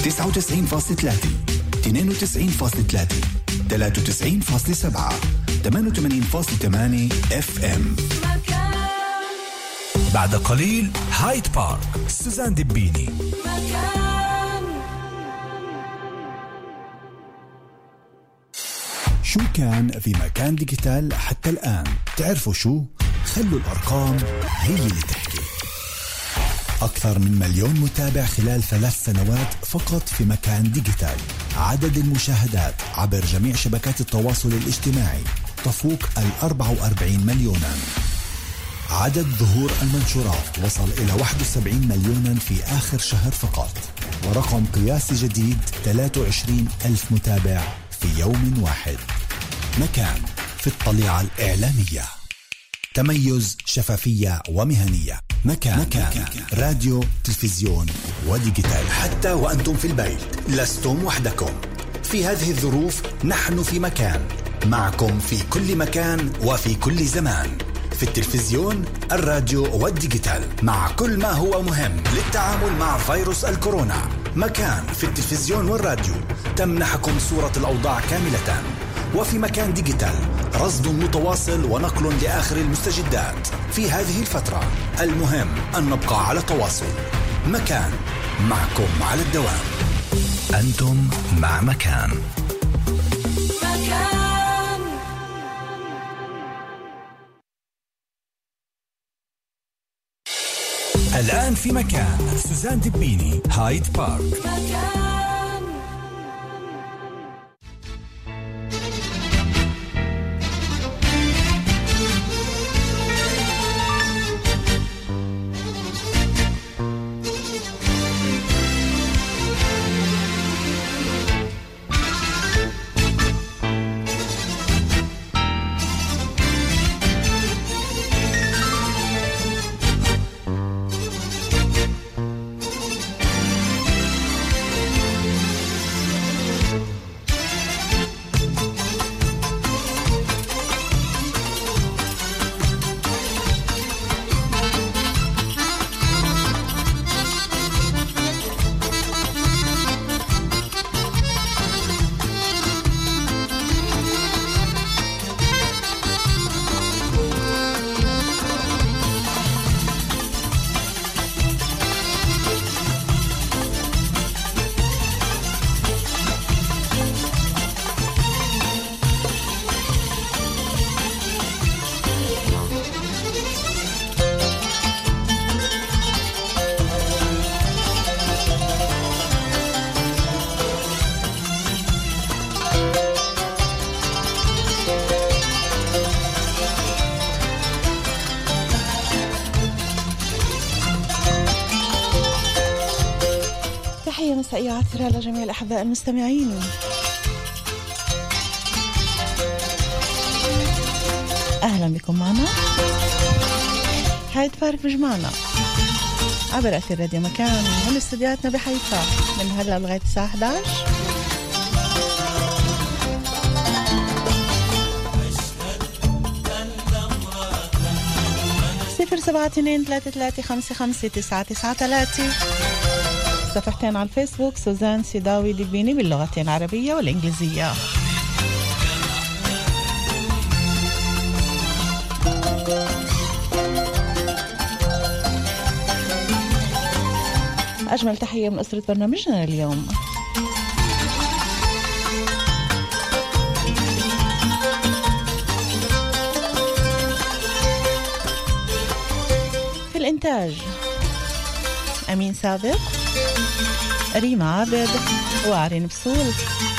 99.3 92.3 93.7 88.8 FM. بعد قليل هايد بارك سوزان دبيني. شو كان في مكان ديجيتال حتى الآن؟ تعرفوا شو؟ خلوا الأرقام هي اللي تحكي. أكثر من 1,000,000 متابع خلال 3 سنوات فقط في مكان ديجيتال. عدد المشاهدات عبر جميع شبكات التواصل الاجتماعي تفوق 44 مليونا. عدد ظهور المنشورات وصل إلى 71 مليونا في آخر شهر فقط، ورقم قياسي جديد 23,000 متابع في يوم واحد. مكان في الطليعة الإعلامية، تميز، شفافية ومهنية. مكان راديو، تلفزيون وديجيتال. حتى وأنتم في البيت لستم وحدكم في هذه الظروف. نحن في مكان معكم في كل مكان وفي كل زمان، في التلفزيون، الراديو والديجيتال، مع كل ما هو مهم للتعامل مع فيروس الكورونا. مكان في التلفزيون والراديو تمنحكم صورة الأوضاع كاملة، وفي مكان ديجيتال رصد متواصل ونقل لآخر المستجدات في هذه الفترة. المهم أن نبقى على تواصل. مكان، معكم على الدوام. أنتم مع مكان. الآن في مكان سوزان دبيني، هايد بارك. مسائية عطرة لجميع الأحباء المستمعين. أهلا بكم معنا. هايد بارك بجمعنا عبر أثير راديو مكان من استديوهاتنا بحيفا من هلا لغاية الساعة 11. 072-3355-9993. صفحتين على الفيسبوك سوزان سيداوي دبيني باللغتين العربية والإنجليزية. أجمل تحية من أسرة برنامجنا اليوم. في الإنتاج أمين سابق، ريما عابد، وعرين بسول،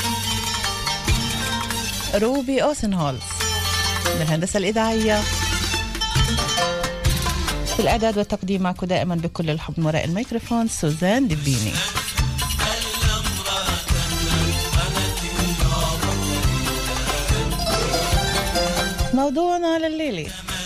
روبي أوسنهولز. بالهندسة الإذاعية في الإعداد والتقديم معكم دائما بكل الحب من وراء الميكروفون سوزان دبيني. موضوعنا لليلة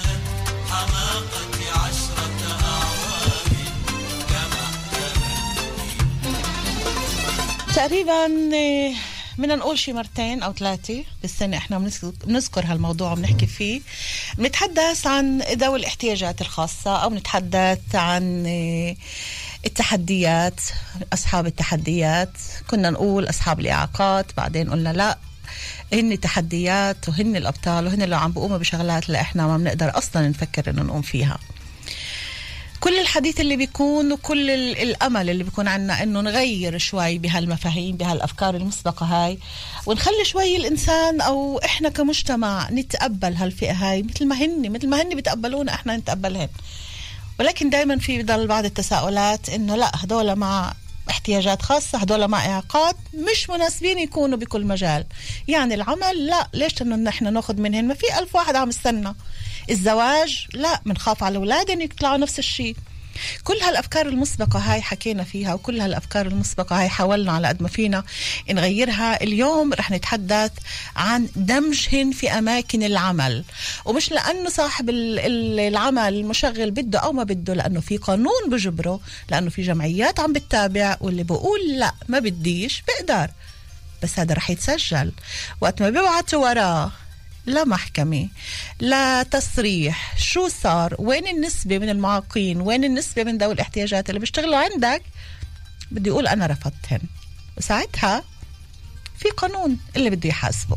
تقريبا بدنا نقول شي 2 أو 3 بالسنة احنا بنذكر هالموضوع وبنحكي فيه. بنتحدث عن ذوي الاحتياجات الخاصة، أو بنتحدث عن التحديات، أصحاب التحديات. كنا نقول أصحاب الإعاقات، بعدين قلنا لا، هن تحديات وهن الأبطال وهن اللي عم بقوموا بشغلات اللي إحنا ما بنقدر أصلا نفكر إنه نقوم فيها. كل الحديث اللي بيكون وكل الأمل اللي بيكون عنا إنه نغير شوي بهالمفاهيم بهالأفكار المسبقة هاي، ونخلي شوي الإنسان أو إحنا كمجتمع نتقبل هالفئة هاي مثل ما هن بتقبلونا إحنا نتقبلهن. ولكن دايما في بضل بعض التساؤلات إنه لا، هدول مع احتياجات خاصة، هدول مع إعاقات مش مناسبين يكونوا بكل مجال. يعني العمل لا، ليش إنه نحن ناخد منهن؟ ما في 1000 واحد عم يستنى. الزواج لا، منخاف على أولادهم يطلعوا نفس الشيء. كل هالأفكار المسبقة هاي حكينا فيها، وكل هالأفكار المسبقة هاي حاولنا على قد ما فينا نغيرها. اليوم رح نتحدث عن دمجهن في أماكن العمل، ومش لأنه صاحب العمل مشغل بده أو ما بده، لأنه في قانون بجبره، لأنه في جمعيات عم بتتابع، واللي بقول لا ما بديش بقدر، بس هذا رح يتسجل. وقت ما بيبعتوا وراه لا محكمة لا تصريح شو صار، وين النسبة من المعاقين، وين النسبة من ذوي الاحتياجات اللي بيشتغلوا عندك، بدي يقول أنا رفضتهن، وساعتها في قانون اللي بده يحاسبه.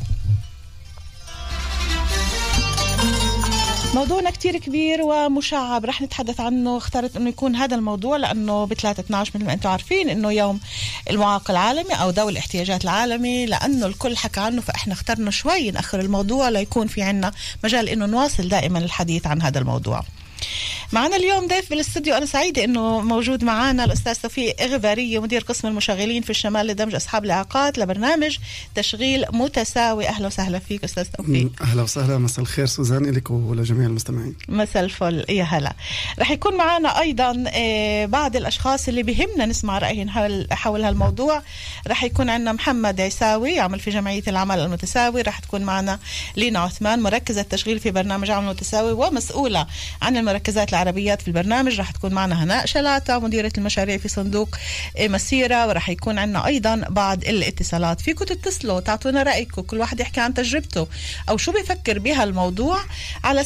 موضوعنا كتير كبير ومشعب، رح نتحدث عنه. اخترت انه يكون هذا الموضوع لانه ب3/12 مثل ما انتم عارفين انه يوم المعاق العالمي او ذوي الاحتياجات العالمي، لانه الكل حكى عنه، فاحنا اخترنا شوي ناخر الموضوع ليكون في عنا مجال انه نواصل دائما الحديث عن هذا الموضوع. معنا اليوم ضيف بالاستوديو، أنا سعيدة إنه موجود معنا الأستاذ توفيق إغبارية، مدير قسم المشغلين في الشمال لدمج أصحاب الإعاقات لبرنامج تشغيل متساوي. أهلا وسهلا فيك أستاذ توفيق. أهلا وسهلا، مساء الخير سوزان لك ولجميع المستمعين. مساء الفل، يا هلا. رح يكون معنا أيضا بعض الأشخاص اللي بهمنا نسمع رأيهم حول هالموضوع. رح يكون عندنا محمد عيساوي يعمل في جمعية العمل المتساوي، رح تكون معنا لينا عثمان مركزة تشغيل في برنامج عمل متساوي ومسؤولة عن المركزات العربيات في البرنامج. رح تكون معنا هناء شلاته مديرة المشاريع في صندوق مسيرة. ورح يكون عنا أيضا بعض الاتصالات، فيكم تتصلوا تعطونا رأيكم، كل واحد يحكي عن تجربته أو شو بيفكر بها الموضوع على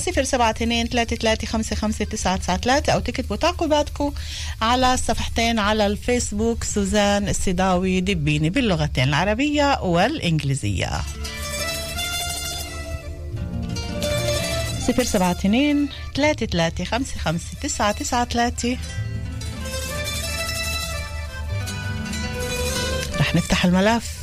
072-3355-993 أو تكتبوا تعقيباتكم على صفحتين على الفيسبوك سوزان السداوي دبيني باللغتين العربية والإنجليزية. 072-3355-993. رح نفتح الملف.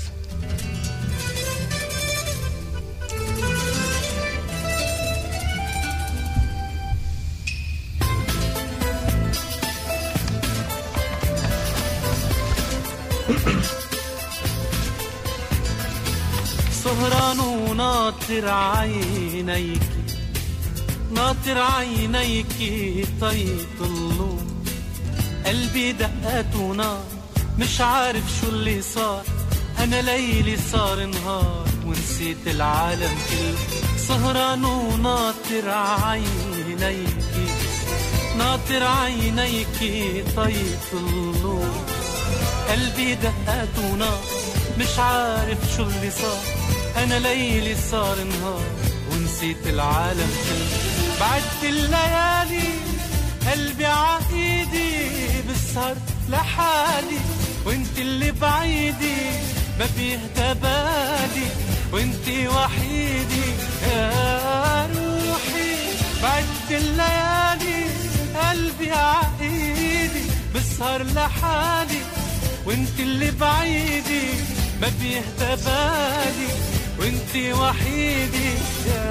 سهران وناطر عينيك، ناطر عينيك طيطلو، قلبي دقات ونار، مش عارف شو اللي صار، أنا ليلي صار نهار ونسيت العالم كله. سهران وناطر عينيك، ناطر عينيك طيطلو، قلبي دقات ونار، مش عارف شو اللي صار، أنا ليلي صار نهار ونسيت العالم كله. بعدت الليالي قلبي عايدي، بسهر لحالي وانت اللي بعيدي، ما بيهدى بالي وانت وحيدي يا روحي. بعدت الليالي قلبي عايدي، بسهر لحالي وانت اللي بعيدي، ما بيهدى بالي وانت وحيدي يا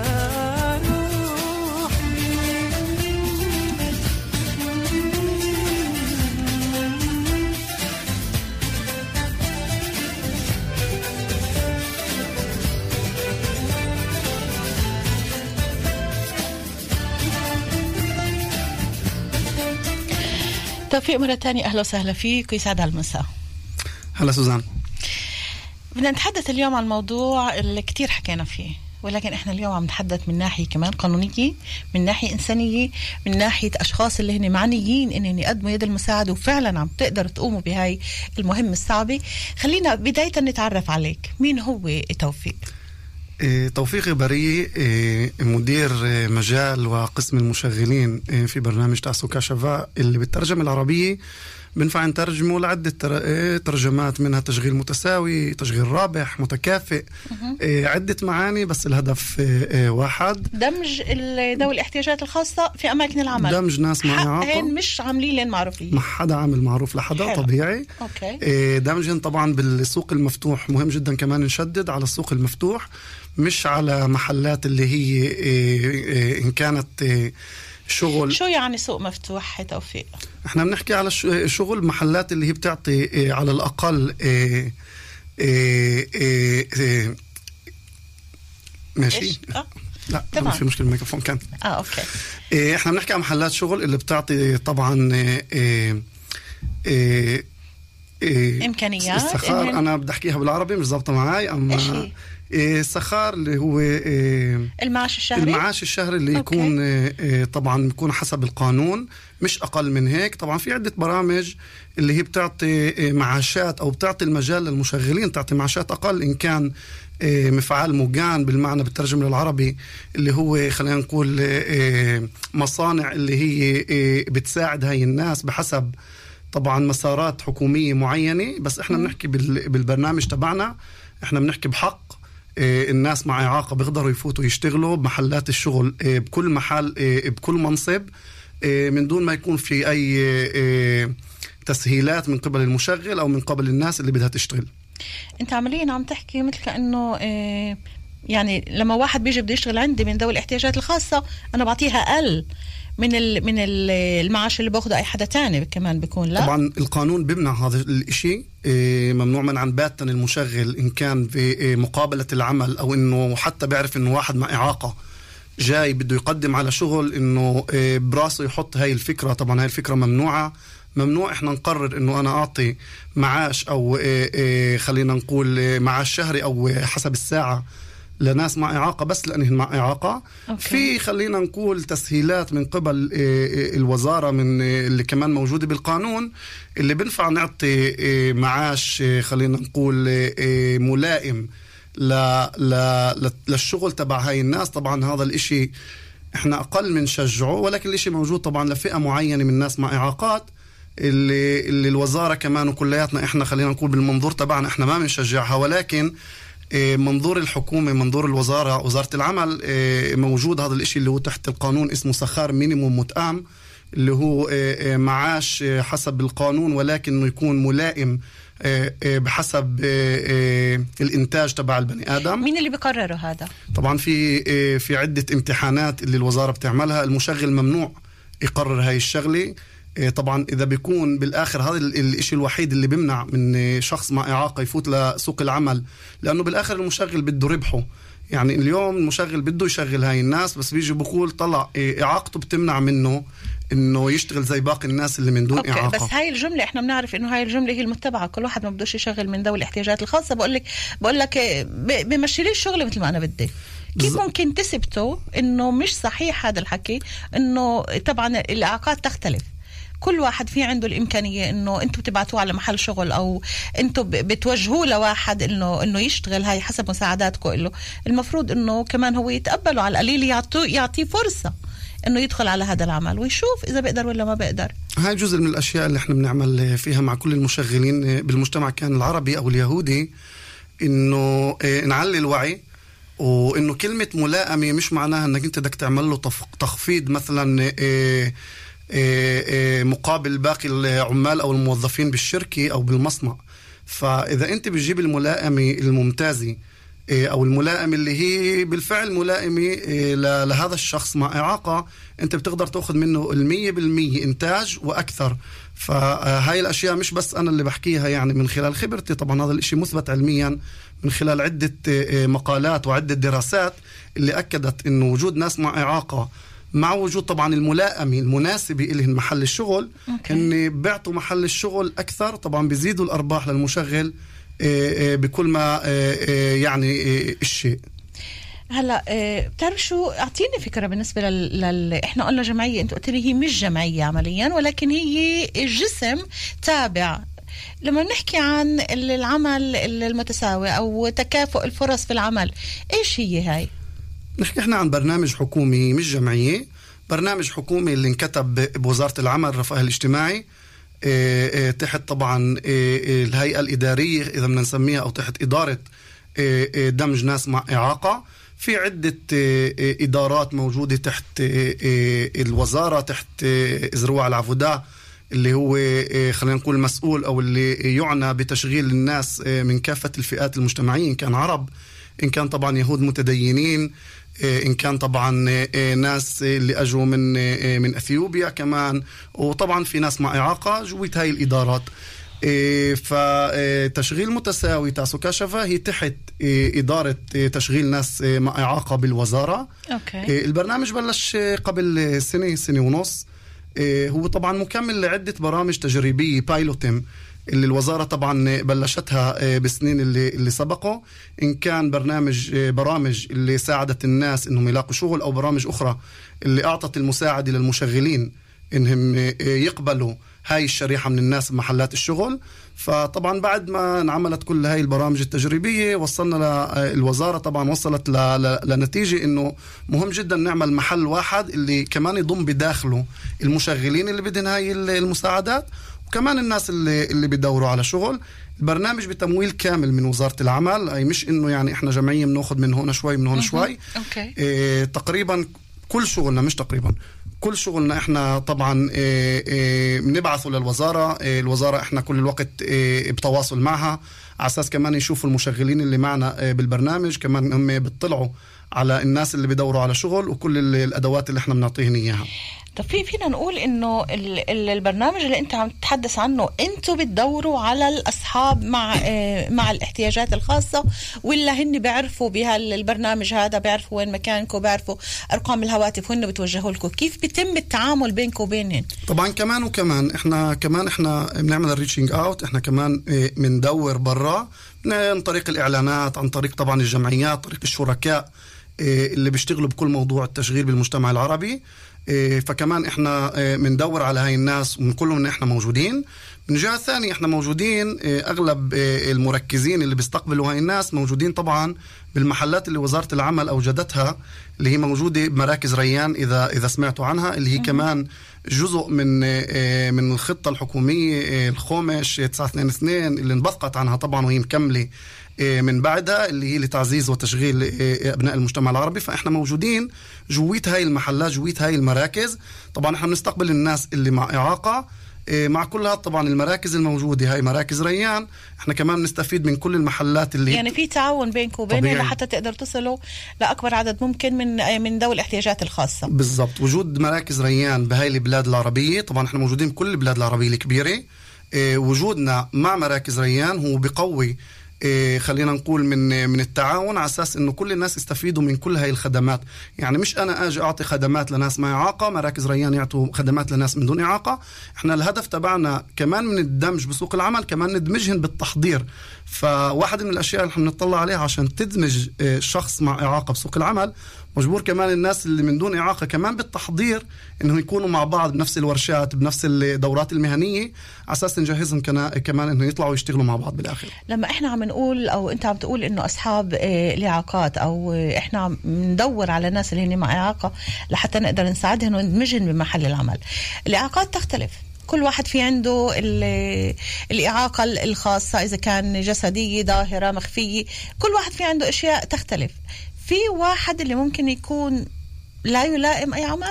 روحي. توفيق مرة تانية، أهلا وسهلا فيك ويسعد هالمساء. هلا سوزان. بدنا نتحدث اليوم عن الموضوع اللي كتير حكينا فيه، ولكن احنا اليوم عم نتحدث من ناحية كمان قانونية، من ناحية إنسانية، من ناحية أشخاص اللي هن معنيين إنهم يقدموا يد المساعدة وفعلا عم تقدروا تقوموا بهاي المهمة الصعبة. خلينا بداية نتعرف عليك، مين هو توفيق؟ توفيق بري، مدير مجال وقسم المشغلين في برنامج تعسوكا شفاء اللي بالترجمة العربية بنفع نترجمه لعدة ترجمات، منها تشغيل متساوي، تشغيل رابح، متكافئ، عدة معاني، بس الهدف واحد: دمج ذوي الاحتياجات الخاصة في أماكن العمل، دمج ناس مع إعاقة، مش عاملين لين معروفين، ما حدا عامل معروف لحدا. حلو. طبيعي. أوكي. دمجهم طبعا بالسوق المفتوح، مهم جدا كمان نشدد على السوق المفتوح، مش على محلات اللي هي إن كانت شغل. شو يعني سوق مفتوح توفيق؟ احنا بنحكي على شغل محلات اللي هي بتعطي على الأقل ماشي. لا طبعا في مشكلة الميكروفون كان. اوكي. احنا بنحكي عن محلات شغل اللي بتعطي طبعا إمكانيات. السخار أنا بدي أحكيها بالعربي مش ضابطة معاي، أما السخار اللي هو المعاش الشهري اللي أوكي. يكون طبعا يكون حسب القانون، مش أقل من هيك. طبعا في عدة برامج اللي هي بتعطي معاشات أو بتعطي المجال للمشغلين تعطي معاشات أقل، إن كان مفعال مجان بالمعنى بالترجمة للعربي، اللي هو خلينا نقول مصانع اللي هي بتساعد هاي الناس بحسب طبعا مسارات حكومية معينة. بس احنا بنحكي بالبرنامج تبعنا، احنا بنحكي بحق الناس مع إعاقة بيقدروا يفوتوا يشتغلوا بمحلات الشغل بكل محل بكل منصب، من دون ما يكون في أي تسهيلات من قبل المشغل أو من قبل الناس اللي بدها تشتغل. انت عمليا عم تحكي مثل كأنه يعني لما واحد بيجي بده يشتغل عندي من ذوي الاحتياجات الخاصة، أنا بعطيها أقل من المعاش اللي باخده أي حدا تاني كمان بيكون. لا طبعا القانون بيمنع هذا الاشي، ممنوع منعا باتا المشغل إن كان في مقابلة العمل أو إنه حتى بيعرف إنه واحد مع إعاقة جاي بده يقدم على شغل إنه براسه يحط هاي الفكرة. طبعا هاي الفكرة ممنوعة. ممنوع إحنا نقرر إنه أنا أعطي معاش أو خلينا نقول معاش شهري أو حسب الساعة لناس مع إعاقة بس لأنهم مع إعاقة. أوكي. في خلينا نقول تسهيلات من قبل الوزارة من اللي كمان موجودة بالقانون اللي بنفع نعطي معاش خلينا نقول ملائم للشغل تبع هاي الناس. طبعا هذا الاشي احنا أقل من شجعه، ولكن الاشي موجود طبعا لفئة معينة من الناس مع إعاقات اللي الوزارة كمان وكلياتنا احنا خلينا نقول بالمنظور تبعنا احنا ما بنشجعها، ولكن منظور الحكومة منظور الوزارة وزارة العمل موجود هذا الاشي اللي هو تحت القانون اسمه سخار مينيموم متأم، اللي هو معاش حسب القانون ولكنه يكون ملائم بحسب الانتاج تبع البني آدم. مين اللي بيقرره هذا؟ طبعا في عدة امتحانات اللي الوزارة بتعملها. المشغل ممنوع يقرر هاي الشغلة. طبعا إذا بيكون بالآخر هذا الإشي الوحيد اللي بيمنع من شخص مع إعاقة يفوت لسوق العمل، لأنه بالآخر المشغل بده ربحه. يعني اليوم المشغل بده يشغل هاي الناس، بس بيجي بقول طلع إعاقته بتمنع منه إنه يشتغل زي باقي الناس اللي من دون أوكي. إعاقة. بس هاي الجملة إحنا بنعرف إنه هاي الجملة هي المتبعة، كل واحد ما بدوش يشغل من ذوي الاحتياجات الخاصة. بقول لك بمشي لي الشغل مثل ما أنا بدي. كيف ممكن تثبتوا إنه مش صحيح هذا الحكي؟ إنه طبعا الإعاقات تختلف، كل واحد في عنده الإمكانية إنه أنتوا بتبعتوه على محل شغل أو أنتوا بتوجهوه لواحد إنه يشتغل هاي حسب مساعداتكم له. المفروض إنه كمان هو يتقبله على القليل، يعطيه فرصة إنه يدخل على هذا العمل ويشوف إذا بيقدر ولا ما بيقدر. هاي جزء من الأشياء اللي إحنا بنعمل فيها مع كل المشغلين بالمجتمع كان العربي أو اليهودي، إنه نعلي الوعي، وإنه كلمة ملائمة مش معناها إنك أنت بدك تعمل له تخفيض مثلا مقابل باقي العمال أو الموظفين بالشركة أو بالمصنع. فإذا أنت بتجيب الملائمة الممتازة أو الملائمة اللي هي بالفعل ملائمة لهذا الشخص مع إعاقة، أنت بتقدر تأخذ منه 100% إنتاج وأكثر. فهاي الأشياء مش بس أنا اللي بحكيها يعني من خلال خبرتي، طبعا هذا الإشي مثبت علميا من خلال عدة مقالات وعدة دراسات اللي أكدت إنه وجود ناس مع إعاقة مع وجود طبعا الملائمة المناسبة إلهم محل الشغل، إن بيعطوا محل الشغل أكثر، طبعا بيزيدوا الأرباح للمشغل بكل ما يعني الشيء. هلا بتعرف شو، اعطيني فكره بالنسبه احنا قلنا جمعيه، انت قلت لي هي مش جمعيه عمليا ولكن هي جسم تابع لما نحكي عن العمل المتساوي أو تكافؤ الفرص في العمل، إيش هي هاي؟ نحكي إحنا عن برنامج حكومي مش جمعية، برنامج حكومي اللي انكتب بوزارة العمل والرفاه الاجتماعي تحت طبعا الهيئة الإدارية إذا بدنا نسميها، أو تحت إدارة دمج ناس مع إعاقة. في عدة إدارات موجودة تحت الوزارة، تحت زروع العفودة اللي هو خلينا نقول مسؤول أو اللي يعنى بتشغيل الناس من كافة الفئات المجتمعية، إن كان عرب، إن كان طبعا يهود متدينين، إن كان طبعا ناس اللي أجوا من أثيوبيا كمان، وطبعا في ناس مع إعاقة جويت هاي الإدارات. فتشغيل متساوي تاسو كشفة هي تحت إدارة تشغيل ناس مع إعاقة بالوزارة. أوكي. البرنامج بلش قبل سنة ونص، هو طبعا مكمل لعدة برامج تجريبية بايلوتم اللي الوزارة طبعا بلشتها بالسنين اللي سبقوا، إن كان برامج اللي ساعدت الناس إنهم يلاقوا شغل، أو برامج أخرى اللي أعطت المساعدة للمشغلين إنهم يقبلوا هاي الشريحة من الناس بمحلات الشغل. فطبعا بعد ما انعملت كل هاي البرامج التجريبية وصلنا الوزارة طبعا وصلت لنتيجة إنه مهم جدا نعمل محل واحد اللي كمان يضم بداخله المشغلين اللي بدهن هاي المساعدات، وكمان الناس اللي بيدوروا على شغل. البرنامج بتمويل كامل من وزارة العمل، أي مش إنه يعني إحنا جمعية بناخد من هنا شوي من هنا شوي. تقريبا كل شغلنا، مش تقريبا كل شغلنا إحنا طبعا بنبعثه للوزارة. الوزارة إحنا كل الوقت بتواصل معها على أساس كمان يشوفوا المشغلين اللي معنا بالبرنامج، كمان هم بيطلعوا على الناس اللي بيدوروا على شغل وكل الأدوات اللي إحنا بنعطيهن إياها. طب فينا نقول إنه البرنامج اللي أنت عم تتحدث عنه أنتوا بتدوروا على الأصحاب مع الاحتياجات الخاصة، ولا هن بيعرفوا بهالبرنامج هذا، بيعرفوا وين مكانكم، بيعرفوا أرقام الهواتف وهن بتوجهوا لكم؟ كيف بيتم التعامل بينكم وبينهن؟ طبعا كمان إحنا بنعمل الريتشينج أوت، إحنا كمان بندور برا عن طريق الإعلانات، عن طريق طبعا الجمعيات، طريق الشركاء اللي بيشتغلوا بكل موضوع التشغيل بالمجتمع العربي. فكمان احنا بندور على هاي الناس ونقول لهم ان احنا موجودين. من جهة ثانية احنا موجودين، اغلب المركزين اللي بيستقبلوا هاي الناس موجودين طبعا بالمحلات اللي وزارة العمل اوجدتها، اللي هي موجودة بمراكز ريان اذا سمعتوا عنها، اللي هي كمان جزء من الخطة الحكومية الخومش 922 اللي انبثقت عنها طبعا وهي مكملة من بعدها، اللي هي لتعزيز وتشغيل أبناء المجتمع العربي. فإحنا موجودين جويت هاي المحلات، جويت هاي المراكز. طبعا إحنا بنستقبل الناس اللي مع إعاقة مع كلها طبعا المراكز الموجودة، هاي مراكز ريان. إحنا كمان نستفيد من كل المحلات اللي يعني في تعاون بينكم وبينهم لحتى تقدر تصلوا لأكبر عدد ممكن من ذوي الاحتياجات الخاصة. بالضبط. وجود مراكز ريان بهاي البلاد العربية، طبعا إحنا موجودين بكل البلاد العربية الكبيرة. وجودنا مع مراكز ريان هو بقوي خلينا نقول من التعاون، على أساس إنه كل الناس يستفيدوا من كل هاي الخدمات. يعني مش أنا أجي أعطي خدمات لناس مع إعاقة، مراكز ريان يعطوا خدمات لناس من دون إعاقة. إحنا الهدف تبعنا كمان من الدمج بسوق العمل، كمان ندمجهن بالتحضير. فواحد من الأشياء اللي نطلع عليها عشان تدمج شخص مع إعاقة بسوق العمل، مجبور كمان الناس اللي من دون إعاقة كمان بالتحضير إنه يكونوا مع بعض بنفس الورشات، بنفس الدورات المهنية، على أساس نجهزهم كمان إنه يطلعوا يشتغلوا مع بعض بالآخر. لما إحنا عم نقول أو أنت عم تقول إنه أصحاب الإعاقات، أو إحنا عم ندور على ناس اللي هن مع إعاقة لحتى نقدر نساعدهم وندمجهم بمحل العمل. الإعاقات تختلف، كل واحد في عنده الإعاقة الخاصة، إذا كان جسدية ظاهرة مخفية، كل واحد في عنده أشياء تختلف. في واحد اللي ممكن يكون لا يلائم أي عمل،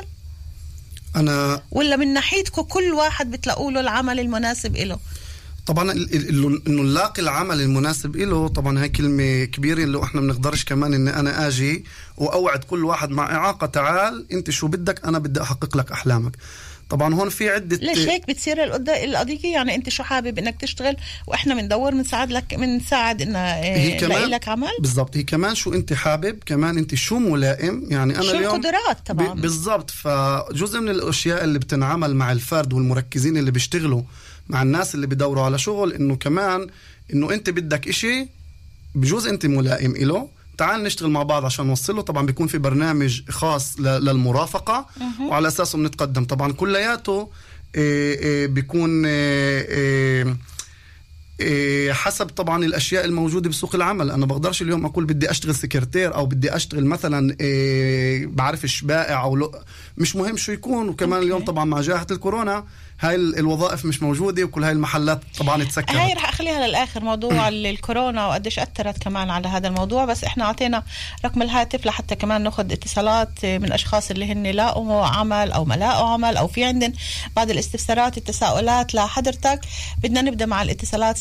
ولا من ناحيتكم كل واحد بتلاقوا له العمل المناسب إله؟ طبعا إنه نلاقي العمل المناسب إله طبعا هاي كلمة كبيرة، اللي احنا بنقدرش كمان إن أنا أجي وأوعد كل واحد مع إعاقة تعال أنت شو بدك، أنا بدي أحقق لك أحلامك. طبعا هون في عدة. ليش هيك بتصير القضية؟ يعني انت شو حابب انك تشتغل واحنا بندور بنساعد ان نلاقي لك عمل. بالضبط. هي كمان شو انت حابب، كمان انت شو ملائم. يعني انا شو اليوم القدرات طبعا. بالضبط. فجزء من الاشياء اللي بتنعمل مع الفرد والمركزين اللي بيشتغلوا مع الناس اللي بيدوروا على شغل، انه كمان انه انت بدك اشي بجوز انت ملائم له، تعال نشتغل مع بعض عشان نوصله. طبعا بيكون في برنامج خاص للمرافقة وعلى أساسه بنتقدم. طبعا كلياته بيكون حسب طبعا الأشياء الموجودة بسوق العمل. أنا بقدرش اليوم أقول بدي أشتغل سكرتير أو بدي أشتغل مثلا بعرفش بائع أو مش مهم شو يكون. وكمان اليوم طبعا مع جائحة الكورونا هاي الوظائف مش موجودة وكل هاي المحلات طبعا تسكرت. هاي رح أخليها للآخر موضوع الكورونا وقديش أثرت كمان على هذا الموضوع. بس إحنا عطينا رقم الهاتف لحتى كمان ناخد اتصالات من أشخاص اللي هن لاقوا عمل أو ما لاقوا عمل أو في عندن بعض الاستفسارات التساؤلات لحضرتك. بدنا نبدأ مع الاتصالات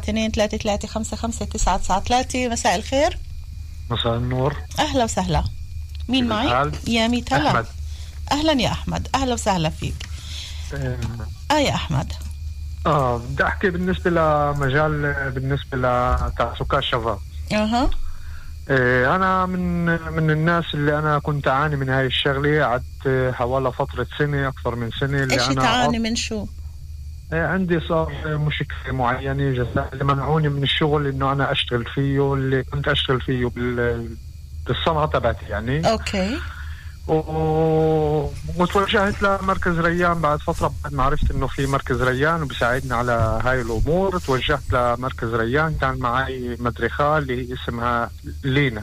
072-3355-993. مساء الخير. مساء النور. أهلا وسهلا. مين معي؟ يا ميت هلا. أحمد. أهلا يا أحمد، أهلا وسهلا فيك. يا أحمد. بدي أحكي بالنسبة لمجال بالنسبة لتعسكات الشباب. أنا من الناس اللي أنا كنت أعاني من هاي الشغلة. قعدت حوالي فترة سنة، أكثر من سنة. اللي إيش تعاني من شو؟ عندي صار مشكلة معينة جدا اللي منعوني من الشغل إنه أنا أشتغل فيه، اللي كنت أشتغل فيه بالصنعة تبعتي يعني. أوكي. وتوجهت لمركز ريان بعد فترة، بعد ما عرفت إنه في مركز ريان وبساعدني على هاي الأمور. توجهت لمركز ريان، كان معي مدرخة اللي اسمها لينا.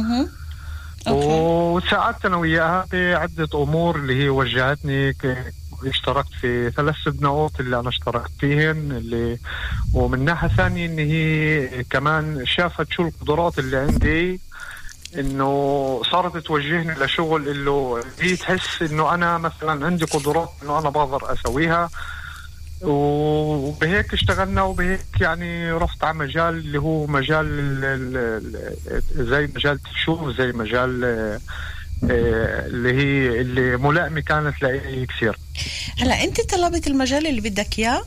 وساعدت أنا وياها بعدة أمور اللي هي وجهتني. اشتركت في 3 سبنات اللي أنا اشتركت فيهن ومن ناحية ثانية إن هي كمان شافت شو القدرات اللي عندي، إنه صارت توجهني لشغل اللي هي تحس إنه أنا مثلا عندي قدرات إنه أنا بقدر أسويها. وبهيك اشتغلنا، وبهيك يعني رحت على مجال اللي هو مجال زي مجال تشوف، زي مجال اللي هي اللي ملائمة كانت لي كثير. هلا أنت طلبت المجال اللي بدك إياه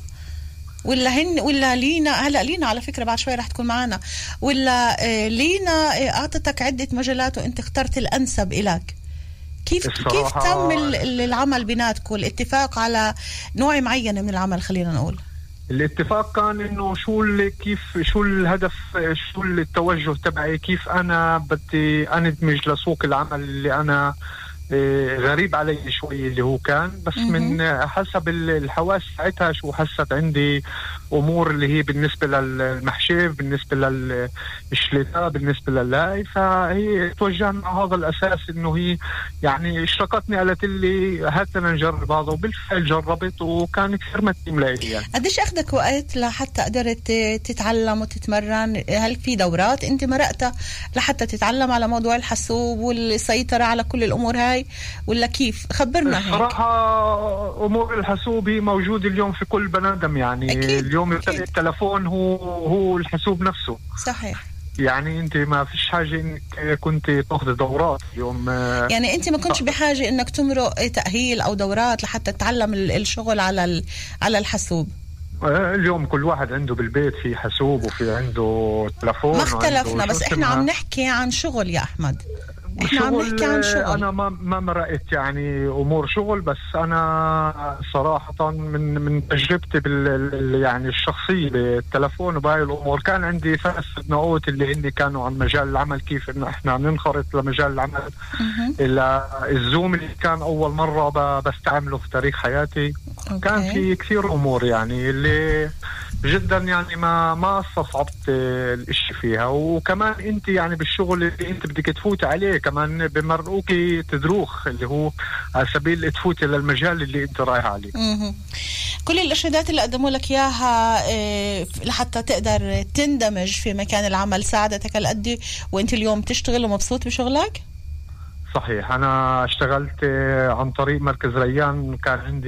ولا لينا؟ هلا لينا على فكرة بعد شوي رح تكون معنا، ولا لينا أعطتك عدة مجالات وأنت اخترت الأنسب إلك؟ كيف تم العمل بيناتكم، الاتفاق على نوع معين من العمل؟ خلينا نقول الاتفاق كان إنه شو الهدف، شو التوجه تبعي، كيف أنا بدي أندمج لسوق العمل اللي أنا غريب علي شوي اللي هو كان. بس من حسب الحواس ساعتها شو حست عندي أمور اللي هي بالنسبة للمحشيف، بالنسبة للشليتا، بالنسبة لللاي. فهي توجهنا على هذا الأساس إنه هي يعني اشتركتني، قالت لي هات لنا نجرب هذا. وبالفعل جربت وكان كثير متم لي يعني. قديش أخذك وقت لحتى قدرت تتعلم وتتمرن؟ هل في دورات أنت مرقتها لحتى تتعلم على موضوع الحاسوب والسيطرة على كل الأمور هاي، ولا كيف؟ خبرنا هيك. صراحة أمور الحاسوب هي موجودة اليوم في كل بنادم يعني. أكيد. اليوم التلفون هو الحاسوب نفسه. صحيح. يعني أنت ما فيش حاجة إنك كنت تأخذ دورات اليوم. يعني أنت ما كنتش بحاجة إنك تمرق تأهيل أو دورات لحتى تتعلم الشغل على الحاسوب. اليوم كل واحد عنده بالبيت في حاسوب وفي عنده تلفون. ما اختلفنا، بس إحنا عم نحكي عن شغل يا أحمد. احنا عم نحكي عن شغل. انا ما مرقت يعني امور شغل. بس انا صراحه من تجربتي يعني الشخصيه بالتلفون وبهاي الامور، كان عندي 3 سنوات اللي هن كانوا عن مجال العمل، كيف انه احنا ننخرط لمجال العمل. الزوم اللي كان اول مره بستعمله في تاريخ حياتي. كان في كثير امور يعني اللي جدا يعني ما استصعبت الاشي فيها. وكمان انت يعني بالشغل اللي انت بدك تفوت عليه كمان بمرقوكي تدروخ اللي هو على سبيل تفوتي للمجال اللي انت رايح عليه. كل الارشادات اللي قدموا لك اياها لحتى تقدر تندمج في مكان العمل ساعدتك هالقد وانت اليوم تشتغل ومبسوط بشغلك؟ صحيح. انا اشتغلت عن طريق مركز ريان.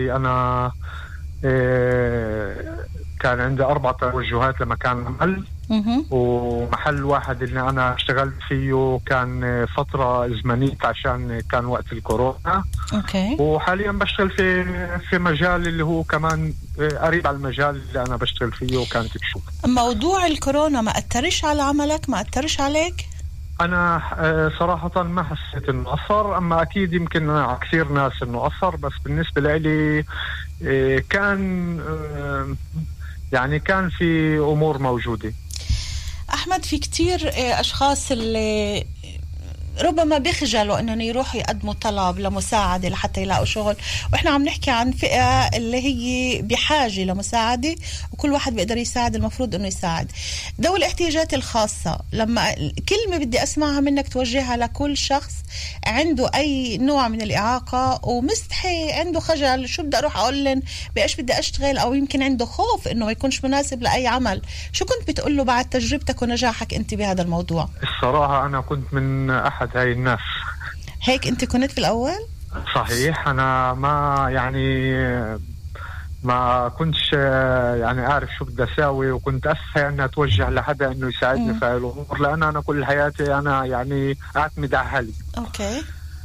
كان عندي 4 توجهات لمكان عمل. ومحل واحد اللي أنا اشتغلت فيه كان فترة زمنية عشان كان وقت الكورونا. أوكي. وحاليا بشتغل في مجال اللي هو كمان قريب على المجال اللي أنا بشتغل فيه وكانت بشوف. موضوع الكورونا ما أثرش على عملك؟ ما أثرش عليك؟ أنا صراحة ما حسيت إنه أثر. أما أكيد يمكن على كثير ناس إنه أثر. بس بالنسبة لي كان يعني كان في أمور موجودة. أحمد، في كتير أشخاص اللي ربما بيخجلوا انهم يروحوا يقدموا طلب لمساعدة لحتى يلاقوا شغل، واحنا عم نحكي عن فئة اللي هي بحاجة لمساعدة، وكل واحد بيقدر يساعد، المفروض انه يساعد. ذوي الاحتياجات الخاصة، لما كلمة بدي اسمعها منك توجهها لكل شخص عنده اي نوع من الاعاقة ومستحي، عنده خجل، شو بدي اروح اقول لهم بايش بدي اشتغل، او يمكن عنده خوف انه ما يكونش مناسب لاي عمل، شو كنت بتقول له بعد تجربتك ونجاحك انت بهذا الموضوع؟ الصراحة انا كنت من احد هاي الناس. هيك انت كنت في الاول؟ صحيح، انا ما كنتش يعني عارف شو بدي اساوي، وكنت اسهى ان اتوجه لحدا انه يساعدني في الامور، لان انا كل حياتي انا يعني اعتمد على حالي. اوكي.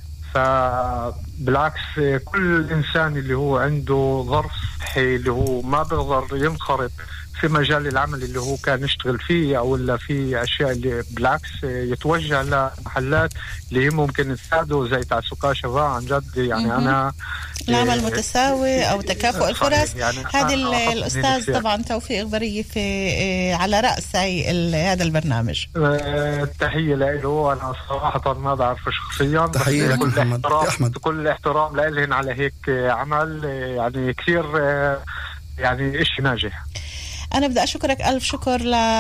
فبالعكس كل انسان اللي هو عنده ظرف صحي اللي هو ما بيقدر ينخرط في مجال العمل اللي هو كان يشتغل فيه، او ولا في اشياء اللي بالعكس يتوجه لمحلات اللي هي ممكن تساعده زي تعسكا شباب عن جد. يعني انا العمل متساوي او تكافؤ الفرص، يعني هذا الاستاذ طبعا توفيق إغبرية في على راس هذا البرنامج. تحيه له، انا صراحه ما بعرفه شخصيا، تحيه لك محمد احمد، كل احترام لهم على هيك عمل، يعني كثير يعني إشي ناجح. أنا بدي أشكرك ألف شكر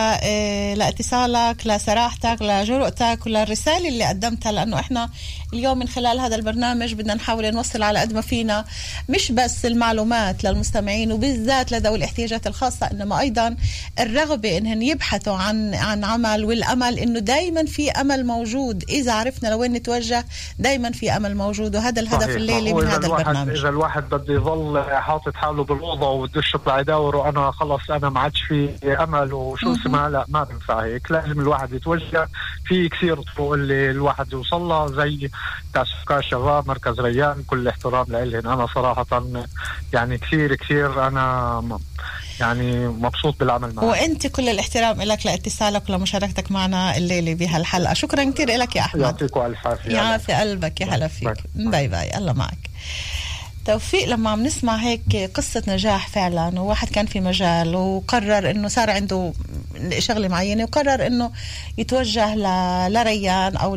لاتصالك، لصراحتك، لجرؤتك، وللرسالة اللي قدمتها، لأنه إحنا اليوم من خلال هذا البرنامج بدنا نحاول نوصل على قد ما فينا مش بس المعلومات للمستمعين وبالذات لذوي الاحتياجات الخاصة، إنما أيضا الرغبة إنهم يبحثوا عن عمل، والأمل إنه دايما في أمل موجود، إذا عرفنا لوين نتوجه دايما في أمل موجود، وهذا الهدف الليلي من هذا البرنامج. إذا الواحد بده يظل حاطط حاله بالأوضة وبدوش يطلع يدور وأنا خلص أنا ما عادش في أمل وشو اسمها، لا ما بنفع هيك، لازم الواحد يتوجه في كثير طرق اللي الواحد يوصل لها، زي تعسكا شباب، مركز ريان، كل احترام لهم. أنا صراحة يعني كثير أنا يعني مبسوط بالعمل معك، وأنت كل الاحترام لك لاتصالك ولمشاركتك معنا الليلة بهالحلقة. شكرا كثير لك يا أحمد. يعطيك ألف عافية. يعافي قلبك، يا هلا فيك. باي باي، الله معك. توفيق، لما عم نسمع هيك قصة نجاح فعلا، وواحد كان في مجال وقرر انه صار عنده شغلة معينة وقرر انه يتوجه لريان او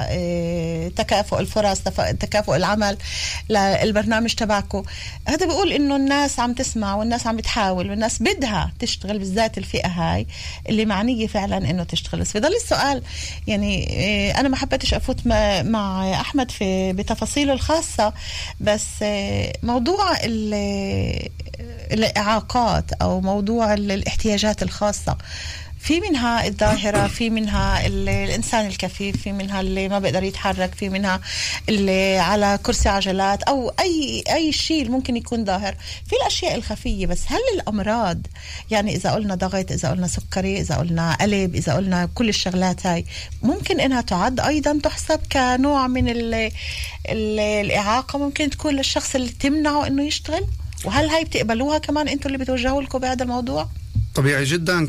لتكافؤ الفرص، تكافؤ العمل، للبرنامج تبعكم، هذا بيقول انه الناس عم تسمع والناس عم بتحاول والناس بدها تشتغل، بالذات الفئة هاي اللي معنية فعلا انه تشتغل. بس بضل السؤال، يعني انا ما حبيتش افوت مع احمد بتفاصيله الخاصة، بس موضوع الإعاقات أو موضوع الاحتياجات الخاصة، في منها الظاهرة، في منها الإنسان الكفيف، في منها اللي ما بيقدر يتحرك، في منها اللي على كرسي عجلات، أو أي شيء ممكن يكون ظاهر، في الأشياء الخفية. بس هل الأمراض، يعني إذا قلنا ضغط، إذا قلنا سكري، إذا قلنا قلب، إذا قلنا كل الشغلات هاي، ممكن إنها تعد أيضا تحسب كنوع من الإعاقة، ممكن تكون للشخص اللي تمنعه إنه يشتغل؟ وهل هاي بتقبلوها كمان أنتوا اللي بتوجهوا لكم بهذا الموضوع؟ طبيعي جدا.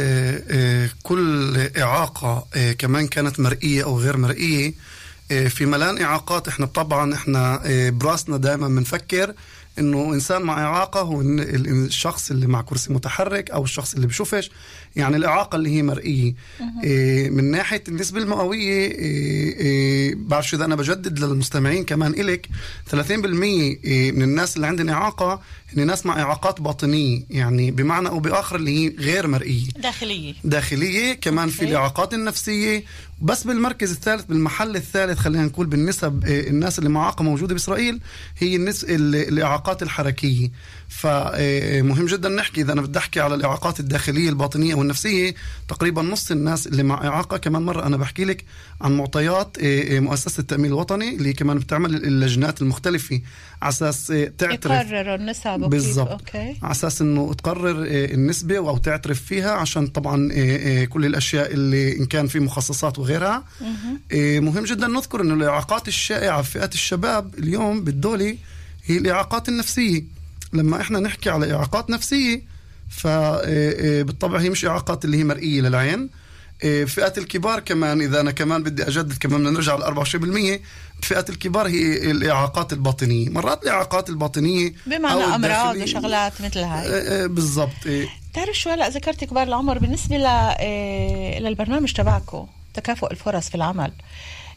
كل إعاقة كمان كانت مرئية أو غير مرئية، في ملان إعاقات إحنا طبعا إحنا براسنا دائما بنفكر إنه إنسان مع إعاقة هو الشخص اللي مع كرسي متحرك أو الشخص اللي بشوفش، يعني الإعاقة اللي هي مرئية. من ناحية النسبة المئوية، بعرفش إذا أنا بجدد للمستمعين كمان إلك، 30% من الناس اللي عندهم إعاقة هن ناس مع إعاقات باطنية، يعني بمعنى أو بآخر اللي هي غير مرئية، داخلية. كمان في الإعاقات النفسية. بس بالمركز الثالث، بالمحل الثالث خلينا نقول بالنسب، الناس اللي مع إعاقة موجودة بإسرائيل هي الإعاقات الحركية. فمهم جدا نحكي، إذا أنا بدي أحكي على الإعاقات الداخلية الباطنية والنفسية، تقريبا نص الناس اللي مع إعاقة. كمان مرة أنا بحكي لك عن معطيات مؤسسة التأمين الوطني اللي كمان بتعمل اللجنات المختلفة على أساس تعترف، يقرر النسب بالضبط، على أساس إنه تقرر النسبة أو تعترف فيها، عشان طبعا كل الأشياء اللي إن كان في مخصصات وغيرها. مهم جدا نذكر إنه الإعاقات الشائعة في فئات الشباب اليوم بالدولة هي الإعاقات النفسية. لما إحنا نحكي على إعاقات نفسية فبالطبع هي مش إعاقات اللي هي مرئية للعين. فئات الكبار كمان، إذا أنا كمان بدي أجدد كمان بدنا نرجع ل 24%، فئات الكبار هي الإعاقات الباطنية. مرات الإعاقات الباطنية بمعنى أمراض وشغلات مثل هاي. بالضبط. تعرف شو هلأ ذكرت كبار العمر، بالنسبة للبرنامج تبعكم تكافؤ الفرص في العمل،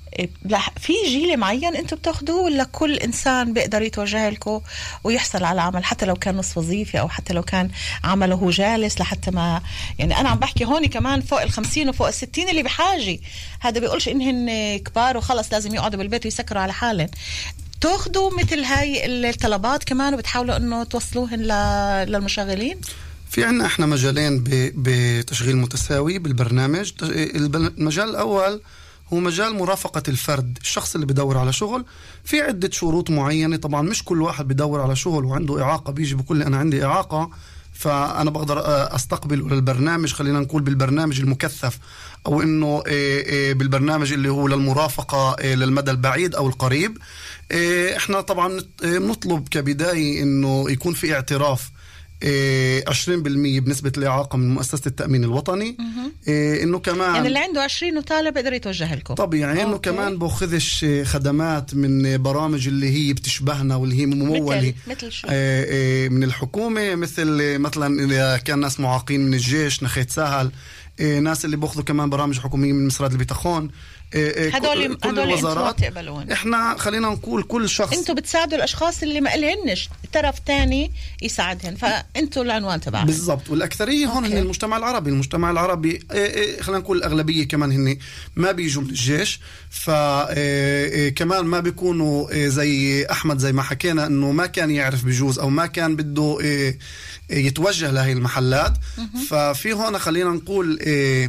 في جيل معين انتم بتاخدوه ولا كل انسان بيقدر يتوجه لكم ويحصل على عمل حتى لو كان نصف وظيفي او حتى لو كان عمله هو جالس لحتى ما يعني انا عم بحكي هون كمان فوق 50 وفوق 60 اللي بحاجه هذا بيقولش انهن كبار وخلص لازم يقعدوا بالبيت ويسكروا على حالهم تاخدوا مثل هاي الطلبات كمان وبتحاولوا انه توصلوهن للمشغلين؟ في عنا احنا مجالين بتشغيل متساوي بالبرنامج. المجال الاول هو مجال مرافقة الفرد، الشخص اللي بدور على شغل في عدة شروط معينة. طبعا مش كل واحد بدور على شغل وعنده إعاقة بيجي بكل أنا عندي إعاقة فأنا بقدر أستقبل للبرنامج، خلينا نقول بالبرنامج المكثف أو إنه بالبرنامج اللي هو للمرافقة للمدى البعيد أو القريب. إحنا طبعا نطلب كبداية إنه يكون في اعتراف 20% بنسبة الإعاقة من مؤسسة التأمين الوطني. إنه كمان يعني اللي عنده 20 وطالب بيقدر يتوجه لكم طبيعي. إنه كمان بأخذش خدمات من برامج اللي هي بتشبهنا واللي هي ممولة مثل شو؟ من الحكومة، مثلا إذا كان ناس معاقين من الجيش نخيت سهل، ناس اللي بأخذوا كمان برامج حكومية من مصراد البيتخون. هدول الوزارات تقبلون. احنا خلينا نقول كل شخص انتوا بتساعدوا الاشخاص اللي ما لهنش طرف تاني يساعدهن فانتوا العنوان تبعهم بالضبط. والاكثريه هون هن المجتمع العربي. المجتمع العربي خلينا نقول الاغلبيه كمان هن ما بيجوا من الجيش فكمان ما بيكونوا زي احمد زي ما حكينا انه ما كان يعرف بجوز او ما كان بده يتوجه لهي المحلات. ففي هون خلينا نقول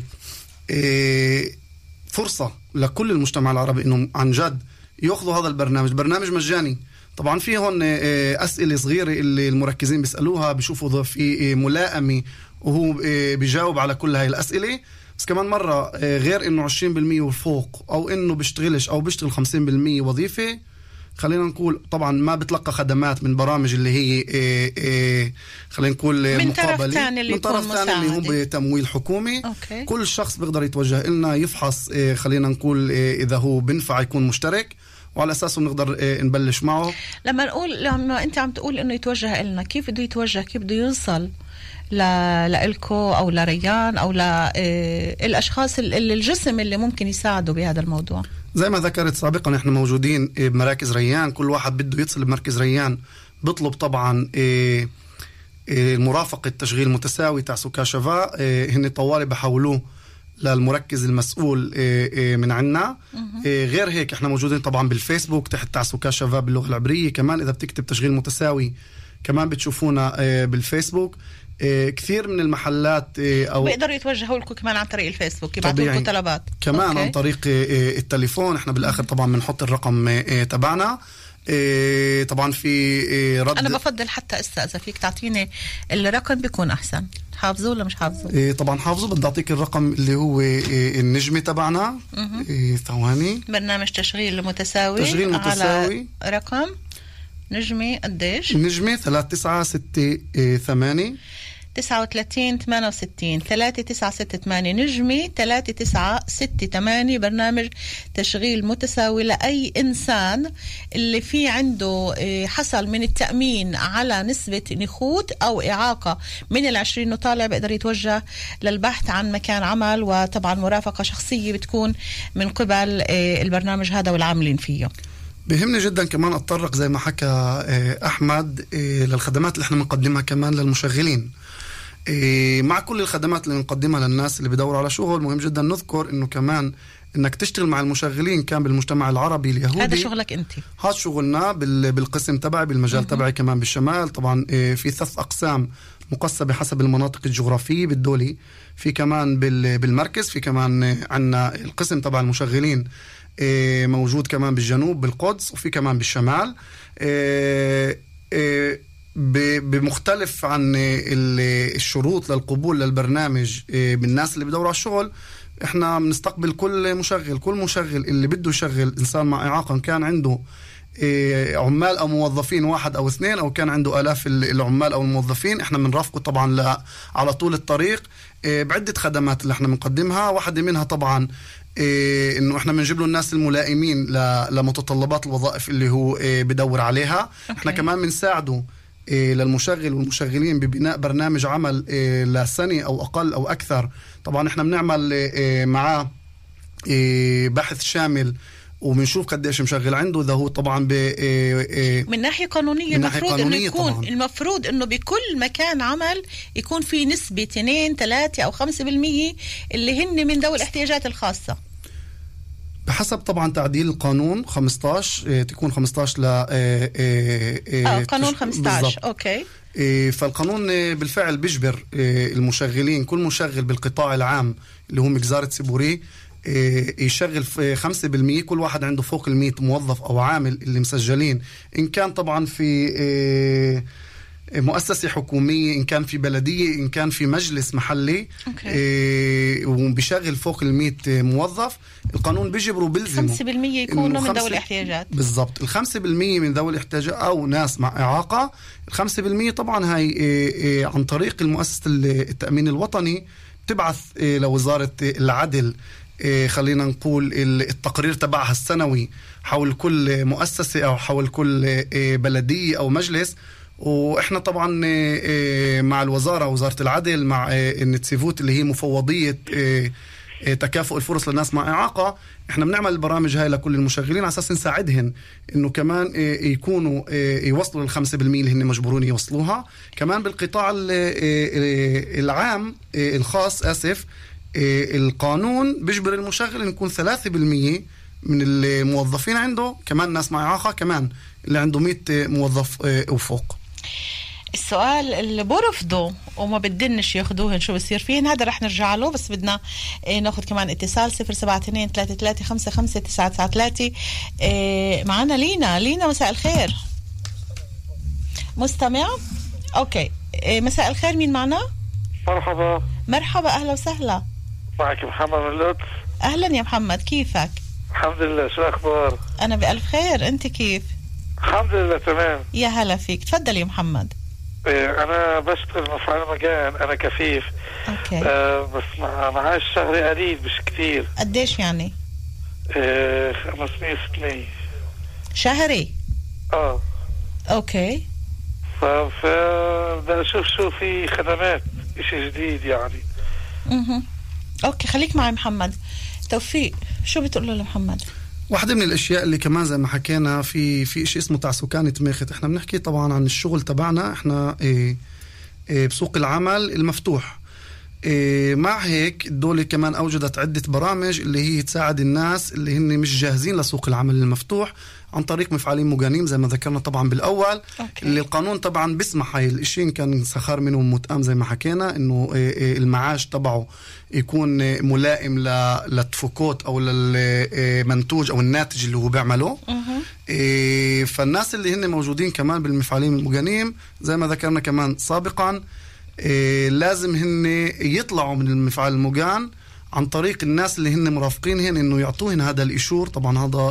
فرصة لكل المجتمع العربي إنه عن جد يأخذوا هذا البرنامج. برنامج مجاني. طبعا في هون أسئلة صغيرة اللي المركزين بيسألوها بيشوفوا في ملائمة وهو بيجاوب على كل هاي الأسئلة. بس كمان مرة غير إنه 20% وفوق أو إنه بيشتغلش أو بيشتغل 50% وظيفة خلينا نقول طبعا ما بتلقى خدمات من برامج اللي هي خلينا نقول من مقابلة من طرف ثاني اللي هم بتمويل حكومي. أوكي. كل شخص بيقدر يتوجه لنا يفحص خلينا نقول إذا هو بنفع يكون مشترك وعلى أساسه نقدر نبلش معه. لما أنت عم تقول إنه يتوجه لنا كيف بده يتوجه كيف بده يوصل لإلكو أو لريان أو للأشخاص اللي الجسم اللي ممكن يساعدوا بهذا الموضوع؟ زي ما ذكرت سابقا احنا موجودين بمراكز ريان. كل واحد بده يتصل بمركز ريان بطلب طبعا مرافقة تشغيل متساوي تاع سكاشفا. هن طوالي بحولوه للمركز المسؤول من عنا. غير هيك احنا موجودين طبعا بالفيسبوك تحت تاع سكاشفا باللغة العبرية. كمان اذا بتكتب تشغيل متساوي كمان بتشوفونا بالفيسبوك. كثير من المحلات او بيقدروا يتوجهوا لكم كمان عن طريق الفيسبوك يبعثوا لكم طلبات كمان. أوكي. عن طريق التليفون احنا بالاخر طبعا بنحط الرقم تبعنا. طبعا في رد انا بفضل حتى اذا فيك تعطيني الرقم بيكون احسن. حافظوه ولا مش حافظوه؟ طبعا حافظه. بدي اعطيك الرقم اللي هو النجمه تبعنا. ثواني. برنامج تشغيل متساوي على رقم نجمة قديش؟ نجمة 3968 39 68 3968 نجمة 3968. برنامج تشغيل متساوي لأي إنسان اللي في عنده حصل من التأمين على نسبة نخوت أو إعاقة من 20 وطالع بيقدر يتوجه للبحث عن مكان عمل وطبعا مرافقة شخصية بتكون من قبل البرنامج هذا والعاملين فيه. بهمني جدا كمان أتطرق زي ما حكى أحمد للخدمات اللي احنا بنقدمها كمان للمشغلين. مع كل الخدمات اللي نقدمها للناس اللي بدوروا على شغل مهم جدا نذكر انه كمان انك تشتغل مع المشغلين كان بالمجتمع العربي اليهودي. هذا شغلك انت. هذا شغلنا بالقسم تبعي بالمجال تبعي كمان بالشمال. طبعا في 3 أقسام مقسمة حسب المناطق الجغرافية بالدولي. في كمان بالمركز. في كمان عنا القسم تبع المشغلين موجود كمان بالجنوب بالقدس. وفي كمان بالشمال. بمختلف عن الشروط للقبول للبرنامج بالناس اللي بدوروا على الشغل. احنا بنستقبل كل مشغل اللي بده يشغل انسان مع اعاقه كان عنده عمال او موظفين 1 أو 2 او كان عنده آلاف العمال او الموظفين. احنا بنرافقه طبعا على طول الطريق بعدة خدمات اللي احنا بنقدمها. واحدة منها طبعا انه احنا بنجيب له الناس الملائمين لمتطلبات الوظائف اللي هو بدور عليها. احنا كمان بنساعده للمشغل والمشغلين ببناء برنامج عمل لسنة أو أقل أو أكثر. طبعا إحنا بنعمل معاه بحث شامل وبنشوف قديش مشغل عنده. إذا هو طبعا من ناحية قانونية المفروض إنه بكل مكان عمل يكون في نسبة 2 3 أو 5% اللي هن من ذوي الاحتياجات الخاصة، بحسب طبعا تعديل القانون 15 تكون 15 ل قانون 15 بالضبط. أوكي. فالقانون بالفعل بيجبر المشغلين، كل مشغل بالقطاع العام اللي هو مجزرة سيبوري يشغل 5%. كل واحد عنده فوق 100 موظف أو عامل اللي مسجلين، إن كان طبعا في مؤسسة حكومية، إن كان في بلدية، إن كان في مجلس محلي وبيشغل فوق 100 موظف. القانون بيجبره بيلزمه 5% يكونوا من ذوي الاحتياجات. بالضبط. 5% من ذوي الاحتياجات أو ناس مع إعاقة. 5% طبعا هاي عن طريق المؤسسة التأمين الوطني تبعث لوزارة العدل خلينا نقول التقرير تبعها السنوي حول كل مؤسسة أو حول كل بلدية أو مجلس. وإحنا طبعا مع وزارة العدل مع النتسيفوت اللي هي مفوضية تكافؤ الفرص للناس مع إعاقة، إحنا بنعمل البرامج هاي لكل المشغلين على أساس نساعدهم إنه كمان يكونوا يوصلوا ل5% اللي هن مجبورون يوصلوها. كمان بالقطاع العام الخاص القانون بيجبر المشغل إن يكون 3% من الموظفين عنده كمان ناس مع إعاقة، كمان اللي عنده 100 موظف وفوق. السؤال اللي برفضوا وما بدنش ياخدوهن شو بصير فيهن، هذا رح نرجع له، بس بدنا ناخد كمان اتصال 072-33-55-993. معنا لينا. مساء الخير. مستمع؟ اوكي. مساء الخير، مين معنا؟ مرحبا اهلا وسهلا. معك محمد من القدس. اهلا يا محمد، كيفك؟ الحمد لله، شو الاخبار؟ انا بألف خير، انت كيف؟ الحمد لله تمام. يا هلا فيك، تفضل يا محمد. انا بشتغل مفعول مجان، انا كفيف. اوكي. بس معاش شهري قليل مش كتير. قديش يعني؟ 500-600 شهري. اوكي. بدي اشوف شو في خدمات اشي جديد يعني. اوكي، خليك معي محمد. توفيق، شو بتقول له لمحمد؟ واحدة من الاشياء اللي كمان زي ما حكينا في شيء اسمه تعسكان تماخت. احنا بنحكي طبعا عن الشغل تبعنا احنا بسوق العمل المفتوح. مع هيك الدولة كمان اوجدت عدة برامج اللي هي تساعد الناس اللي هن مش جاهزين لسوق العمل المفتوح عن طريق مفعالين مجانين زي ما ذكرنا طبعا بالاول. اللي القانون طبعا بيسمح هاي الاشي إن كان سخار منهم متأم زي ما حكينا انه المعاش تبعه يكون ملائم للتفوكوت او للمنتوج او الناتج اللي هو بيعمله. فالناس اللي هن موجودين كمان بالمفعالين المجانين زي ما ذكرنا كمان سابقا لازم هن يطلعوا من المفعال المجان عن طريق الناس اللي هن مرافقينهن انه يعطوهن هذا الاشور. طبعا هذا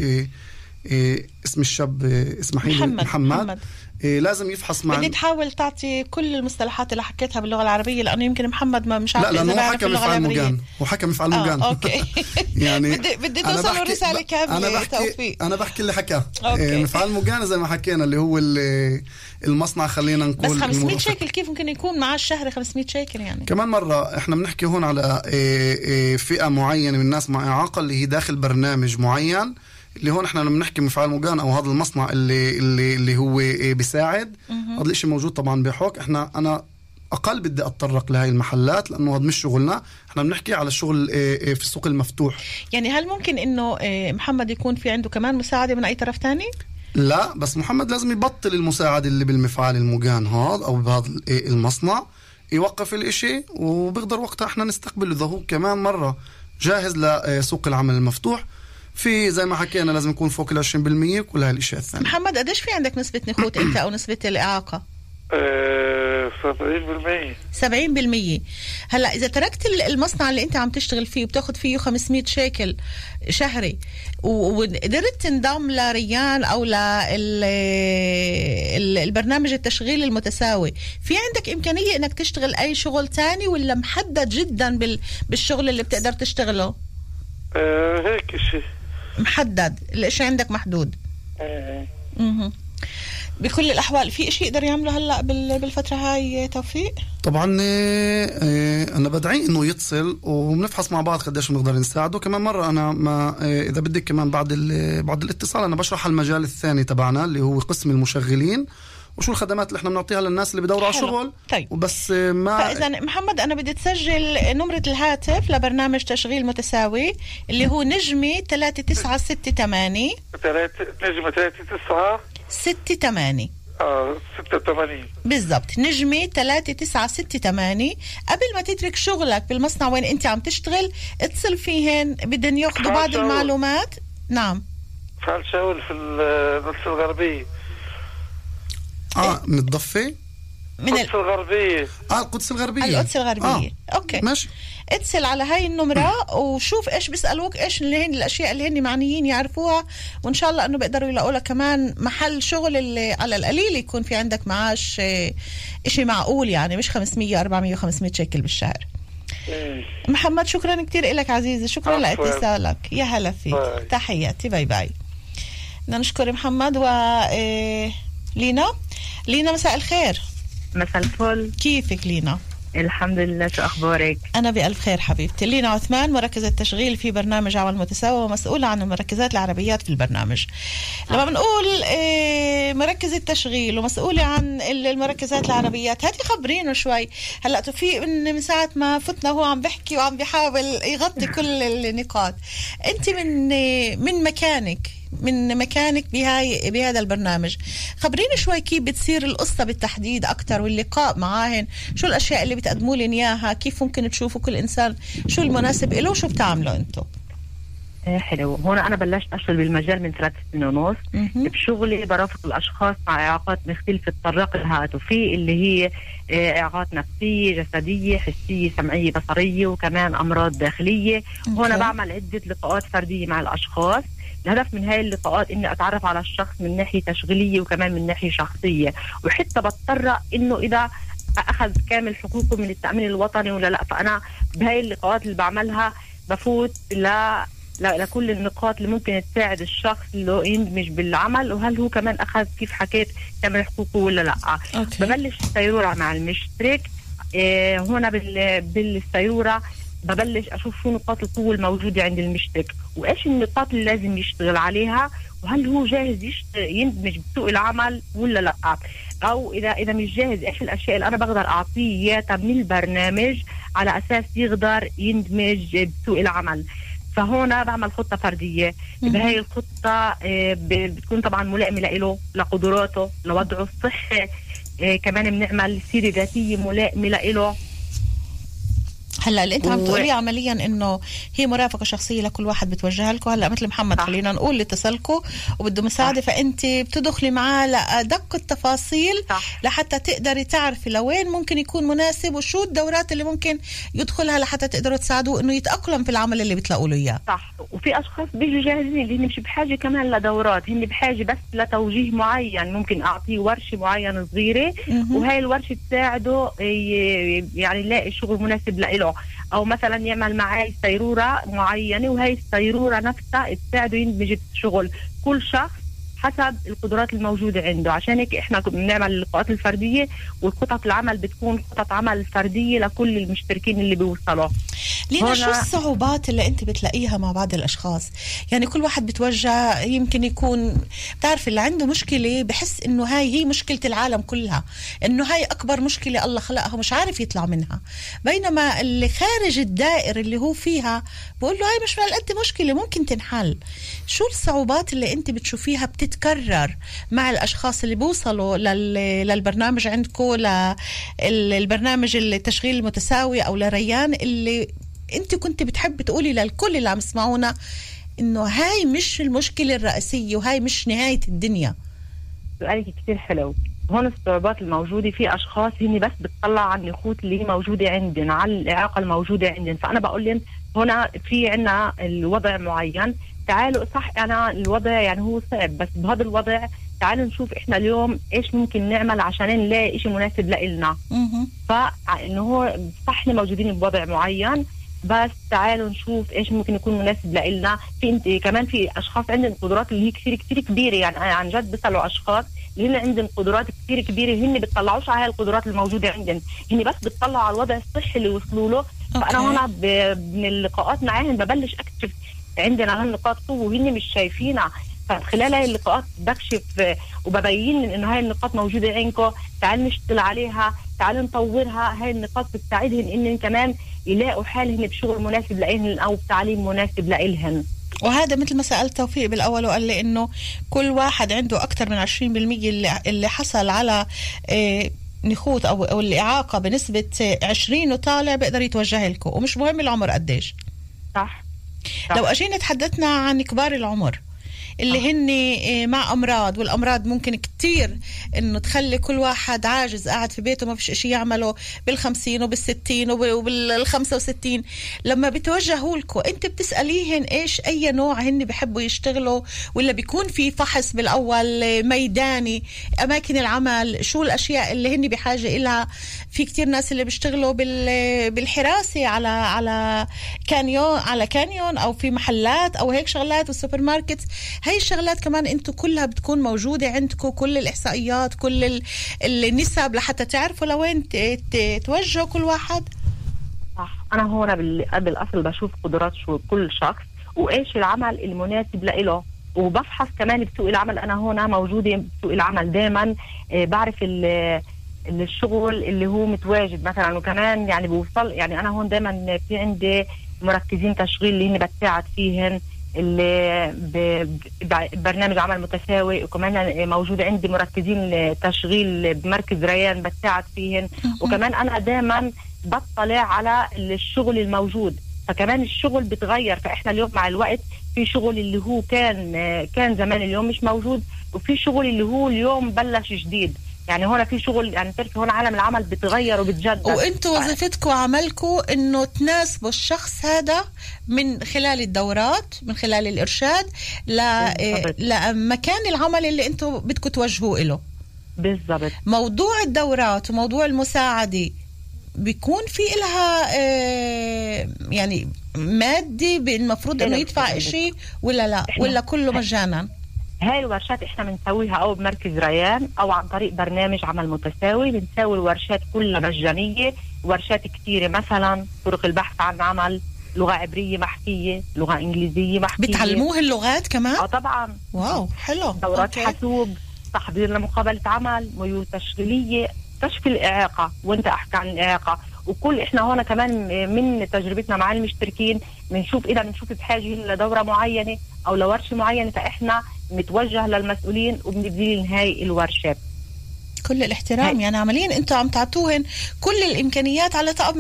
اسم الشاب اسمحي لي محمد. لازم يفحص معنا. بدي تحاول تعطي كل المصطلحات اللي حكيتها باللغة العربية لأنه يمكن محمد ما مش عارف. لا لأنه هو حكى مفعال مجان وحكى مفعال مجان. أوكي. يعني بدي توصل الرسالة كاملة. توفيق. أنا بحكي اللي حكاه. مفعال مجان زي ما حكينا اللي هو المصنع خلينا نقول. بس 500 شيكل كيف ممكن يكون معاه الشهر 500 شيكل يعني؟ كمان مرة احنا بنحكي هون على فئة معينة من الناس مع إعاقة اللي هي داخل برنامج معين اللي هون احنا لما بنحكي مفعال مجان او هذا المصنع اللي هو بيساعد. هذا الاشي موجود طبعا بحوك. انا اقل بدي اتطرق لهي المحلات لانه هذا مش شغلنا. احنا بنحكي على الشغل في السوق المفتوح. يعني هل ممكن انه محمد يكون في عنده كمان مساعدة من اي طرف تاني؟ لا بس محمد لازم يبطل المساعدة اللي بالمفعال المجان هذا او بهذا المصنع، يوقف الاشي وبقدر وقتها احنا نستقبل اذا هو كمان مرة جاهز لسوق العمل المفتوح. في زي ما حكينا لازم يكون فوق 20% كل هالاشياء الثانيه. محمد قديش في عندك نسبة نخوت انت او نسبة الإعاقة؟ 70%. هلا اذا تركت المصنع اللي انت عم تشتغل فيه وبتاخد فيه 500 شيكل شهري وقدرت تنضم لريان او للبرنامج التشغيل المتساوي، في عندك امكانية انك تشتغل اي شغل تاني ولا محدد جدا بالشغل اللي بتقدر تشتغله؟ هيك شيء محدد، الاشي عندك محدود. بكل الأحوال في إشي يقدر يعمله هلأ بالفترة هاي توفيق؟ طبعا أنا بدعي إنه يتصل وبنفحص مع بعض قديش بنقدر نساعده. كمان مرة أنا ما إذا بدك كمان بعد الاتصال أنا بشرح المجال الثاني تبعنا اللي هو قسم المشغلين وشو الخدمات اللي احنا بنعطيها للناس اللي بدوروا على شغل. طيب. وبس ما فإذا محمد أنا بدي تسجل نمرة الهاتف لبرنامج تشغيل متساوي اللي هو نجمي 3968 نجمة 3968 86 بالضبط. نجمي 3968. قبل ما تترك شغلك بالمصنع وين انت عم تشتغل اتصل فيهن، بدهم ياخذوا بعض المعلومات. نعم فعل شغل في القدس الغربية. من الضفة من القدس الغربية. القدس الغربية. اوكي ماشي. اتصل على هاي النمرة وشوف ايش بيسألوك، ايش اللي هن الاشياء اللي هن معنيين يعرفوها، وان شاء الله انه بيقدروا يلاقوا لك كمان محل شغل اللي على القليل يكون في عندك معاش اشي معقول، يعني مش 500 400 500 شيكل بالشهر. محمد شكرا كتير لك عزيزي، شكرا لاتصالك، يا هلا فيك. تحياتي، باي باي. بدنا نشكر محمد. و لينا مساء الخير. مساء الفل، كيفك لينا؟ الحمد لله، شو أخبارك؟ أنا بألف خير حبيبتي. لينا عثمان، مركزة تشغيل في برنامج عمل متساوي ومسؤولة عن المركزات العربيات في البرنامج. لما بنقول مركزة تشغيل ومسؤولة عن المركزات العربيات، هاتي خبرينه شوي. هلأ توفيق من ساعة ما فتنا هو عم بحكي وعم بيحاول يغطي كل النقاط. أنت من مكانك بهذا البرنامج، خبريني شوي كيف بتصير القصة بالتحديد أكتر واللقاء معاهن، شو الأشياء اللي بتقدموا لي إياها، كيف ممكن تشوفوا كل إنسان شو المناسب له وشو بتعملوا أنتو؟ حلو. هون أنا بلشت أشتغل بالمجال من 3 سنين ونص. بشغلي برافق الأشخاص مع إعاقات مختلفة تطرق لها، وفي اللي هي إعاقات نفسية، جسدية، حسية، سمعية، بصرية، وكمان أمراض داخلية. هون بعمل عدة لقاءات فردية مع الأشخاص. الهدف من هاي اللقاءات إني أتعرف على الشخص من ناحية تشغيلية وكمان من ناحية شخصية، وحتى بضطر إنه إذا أخذ كامل حقوقه من التأمين الوطني ولا لا. فأنا بهاي اللقاءات اللي بعملها بفوت لكل النقاط اللي ممكن تساعد الشخص اللي يندمج بالعمل، وهل هو كمان أخذ كيف حكيت كامل حقوقه ولا لا. ببلش السيرورة مع المشترك. هنا بالسيرورة ببلش أشوف شو نقاط القوة الموجودة عند المشترك، وإيش النقاط اللي لازم يشتغل عليها، وهل هو جاهز يندمج بسوق العمل ولا لا، أو إذا مش جاهز إيش الأشياء اللي أنا بقدر أعطيه إياها من البرنامج على أساس يقدر يندمج بسوق العمل. فهنا بعمل خطة فردية. بهاي الخطة بتكون طبعا ملائمة له، لقدراته، لوضعه الصحي. كمان بنعمل سيرة ذاتية ملائمة له. هلا اللي انت عم تقولي عمليا انه هي مرافقه شخصيه لكل واحد بتوجهها لكم. هلا مثل محمد خلينا نقول اللي اتصلكوا وبده مساعده، فانت بتدخلي معاه لادق التفاصيل لحتى تقدري تعرفي لوين ممكن يكون مناسب وشو الدورات اللي ممكن يدخلها لحتى تقدروا تساعدوه انه يتاقلم في العمل اللي بتلاقوا له اياه. صح. وفي اشخاص بيجوا جاهزين اللي هن مش بحاجه كمان لدورات، هن بحاجه بس لتوجيه معين. ممكن اعطيه ورشه معينه صغيره وهي الورشه تساعده يعني يلاقي شغل مناسب له، او مثلا يعمل معي سيرورة معينة وهي السيرورة نفسها تساعده يندمج الشغل. كل شخص حسب القدرات الموجودة عنده. عشان هيك احنا بنعمل اللقاءات الفردية، والخطط العمل بتكون خطط عمل فردية لكل المشتركين اللي بيوصلوا. لينا شو الصعوبات اللي انت بتلاقيها مع بعض الاشخاص؟ يعني كل واحد بتوجه، يمكن يكون بتعرف اللي عنده مشكلة بحس انه هاي هي مشكلة العالم كلها، انه هاي اكبر مشكلة الله خلقها ومش عارف يطلع منها، بينما اللي خارج الدائرة اللي هو فيها بقول له هاي مش قد مشكلة ممكن تنحل. شو الصعوبات اللي انت بتشوفيها بتتكرر مع الاشخاص اللي بيوصلوا للبرنامج عندكم، للبرنامج التشغيل المتساوي او لريان، اللي انت كنت بتحب تقولي للكل اللي عم يسمعونا انه هاي مش المشكلة الرئيسية وهاي مش نهاية الدنيا؟ سؤالك كتير حلو. هون الصعوبات الموجودة في أشخاص هني بس بتطلع على النقاط اللي موجودة عندنا، على الإعاقة الموجودة عندنا. فأنا بقول لهم هنا في عنا الوضع معين، تعالوا صح أنا الوضع يعني هو صعب، بس بهذا الوضع تعالوا نشوف إحنا اليوم إيش ممكن نعمل عشان نلاقي إشي مناسب لإلنا. فإنه هو صح إحنا موجودين بوضع معين، بس تعالوا نشوف إيش ممكن يكون مناسب لإلنا. في كمان في أشخاص عندهم قدرات اللي هي كتير كبيرة، يعني عن جد بسألوا أشخاص اللي هن عندهم قدرات كثير كبيره، هن بتطلعوش على هاي القدرات الموجوده عندهم، هن بس بتطلعوا على الوضع الصحي اللي وصلوا له. فانا هنا من اللقاءات معاهم ببلش اكتشف عندنا هالنقاط قوه وهن مش شايفينها. فخلال هاي اللقاءات بكشف وببين انه هاي النقاط موجوده عندكم، تعالوا نشتغل عليها، تعالوا نطورها. هاي النقاط بتساعدهم انهم كمان يلاقوا حالهم بشغل مناسب لإلهن او بتعليم مناسب لإلهن. وهذا مثل ما سأل توفيق بالأول وقال لي إنه كل واحد عنده أكثر من 20% اللي حصل على نخوت أو الإعاقة بنسبة 20 وطالع بيقدر يتوجه لكم، ومش مهم العمر قديش. صح. لو أجينا تحدثنا عن كبار العمر اللي هن مع أمراض، والأمراض ممكن كتير إنه تخلي كل واحد عاجز قاعد في بيته ما فيش إشي يعمله بال50 وبال60 وبال65، لما بتوجهوا لكم أنت بتسأليهن إيش أي نوع هن بيحبوا يشتغلوا، ولا بيكون في فحص بالأول ميداني أماكن العمل، شو الأشياء اللي هن بحاجة إلها؟ في كتير ناس اللي بيشتغلوا بالحراسة على كانيون أو في محلات أو هيك شغلات والسوبر ماركت. هاي الشغلات كمان انتو كلها بتكون موجودة عندكم، كل الإحصائيات، كل النسب لحتى تعرفوا لوين توجهوا كل واحد. صح. أنا هون بالأصل بشوف قدرات شو كل شخص وإيش العمل المناسب لإله، وبفحص كمان بسوق العمل. أنا هون موجودة بسوق العمل دائما، بعرف الشغل اللي هو متواجد مثلا، وكمان يعني بوصل يعني أنا هون دائما في عندي مركزين تشغيل اللي هن بتساعد فيهن، اللي برنامج عمل متساوي، وكمان موجود عندي مركزين تشغيل بمركز ريان بتساعد فيهن. وكمان أنا دائما بطلع على الشغل الموجود، فكمان الشغل بتغير. فإحنا اليوم مع الوقت في شغل اللي هو كان زمان اليوم مش موجود، وفي شغل اللي هو اليوم بلش جديد. يعني هون في شغل، يعني تعرفي هون عالم العمل بتغير وبتجدد، وانتوا وظيفتكم وعملكم انه تناسبوا الشخص هذا من خلال الدورات، من خلال الارشاد لمكان العمل اللي انتوا بدكم توجهوا له. بالضبط. موضوع الدورات وموضوع المساعدة بيكون في إلها يعني مادي المفروض انه يدفع اشي ولا لا، ولا كله مجانا؟ هاي الورشات احنا بنسويها او بمركز ريان او عن طريق برنامج عمل متساوي. بنسوي الورشات كلها مجانية، ورشات كتيرة، مثلا طرق البحث عن عمل، لغة عبرية محكية، لغة انجليزية محكية. بتعلموه اللغات كمان؟ طبعا. واو حلو. دورات حاسوب، تحضير لمقابلة عمل، ميول تشغيلية، كشف الإعاقة وانت احكي عن الإعاقة. وكل احنا هون كمان من تجربتنا مع المشتركين بنشوف اذا بنشوف بحاجة لدورة معينة او لورشة معينة، فاحنا متوجه للمسؤولين وبنبذل هاي الورشات. كل الاحترام. يعني عمليا انتوا عم تعطوهن كل الامكانيات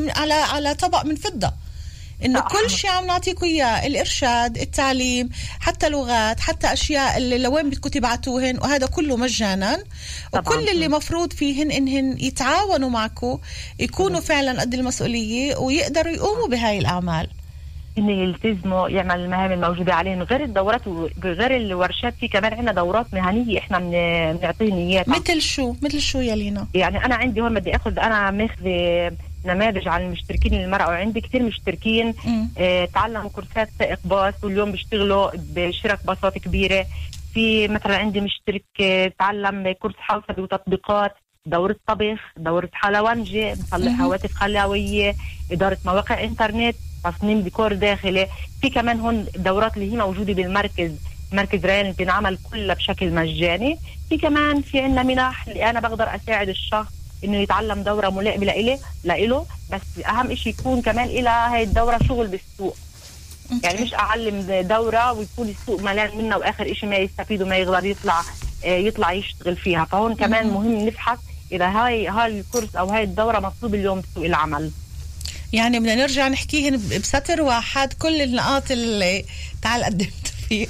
على طبق من فضة، انه كل شيء عم نعطيكم اياه، الارشاد، التعليم، حتى لغات، حتى اشياء اللي لوين بدكم تبعتوهن، وهذا كله مجانا. وكل اللي مفروض فيهن انهن يتعاونوا معكم، يكونوا فعلا قد المسؤولية ويقدروا يقوموا بهاي الاعمال، إن يلتزموا يعمل المهام الموجودة عليهم. غير الدورات وغير الورشات في كمان عندنا دورات مهنية احنا بنعطيهم اياها. مثل شو يا لينا؟ يعني أنا عندي هون بدي أنا ماخذ نماذج عن المشتركين المرأة، وعندي كتير مشتركين تعلموا كورسات سائق باص واليوم بيشتغلوا بشرك باصات كبيرة. في مثلا عندي مشترك تعلم كورس حوسبي وتطبيقات، دورة طبخ، دورة حلوانجة، مصلح هواتف خلاوية، إدارة مواقع إنترنت، تصميم ديكور داخلي. في كمان هون دورات اللي هي موجودة بالمركز، مركز ريان بنعمل كلها بشكل مجاني. في كمان في عنا منح اللي أنا بقدر أساعد الشخص إنه يتعلم دورة ملائمة لإله، بس أهم إشي يكون كمان إلى هاي الدورة شغل بالسوق. يعني مش أعلم دورة ويكون السوق ملان منها وآخر إشي ما يستفيد وما يقدر يطلع يشتغل فيها. فهون كمان مهم نفحص إذا هاي الكورس أو هاي الدورة مطلوب اليوم بسوق العمل. يعني بدنا نرجع نحكيهن بسطر واحد كل النقاط اللي تعال قدمت فيه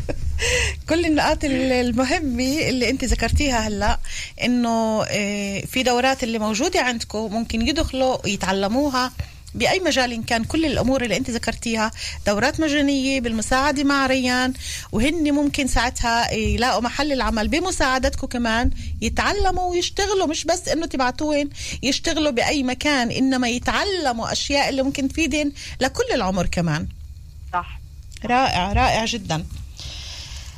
كل النقاط المهمة اللي انت ذكرتيها هلأ، انه في دورات اللي موجودة عندكم ممكن يدخلوا يتعلموها بأي مجال إن كان. كل الأمور اللي أنت ذكرتيها دورات مجانية بالمساعدة مع ريان، وهن ممكن ساعتها يلاقوا محل العمل بمساعدتكم كمان، يتعلموا ويشتغلوا، مش بس إنه تبعتوهن يشتغلوا بأي مكان، إنما يتعلموا أشياء اللي ممكن تفيدهن لكل العمر كمان. صح. رائع رائع جدا.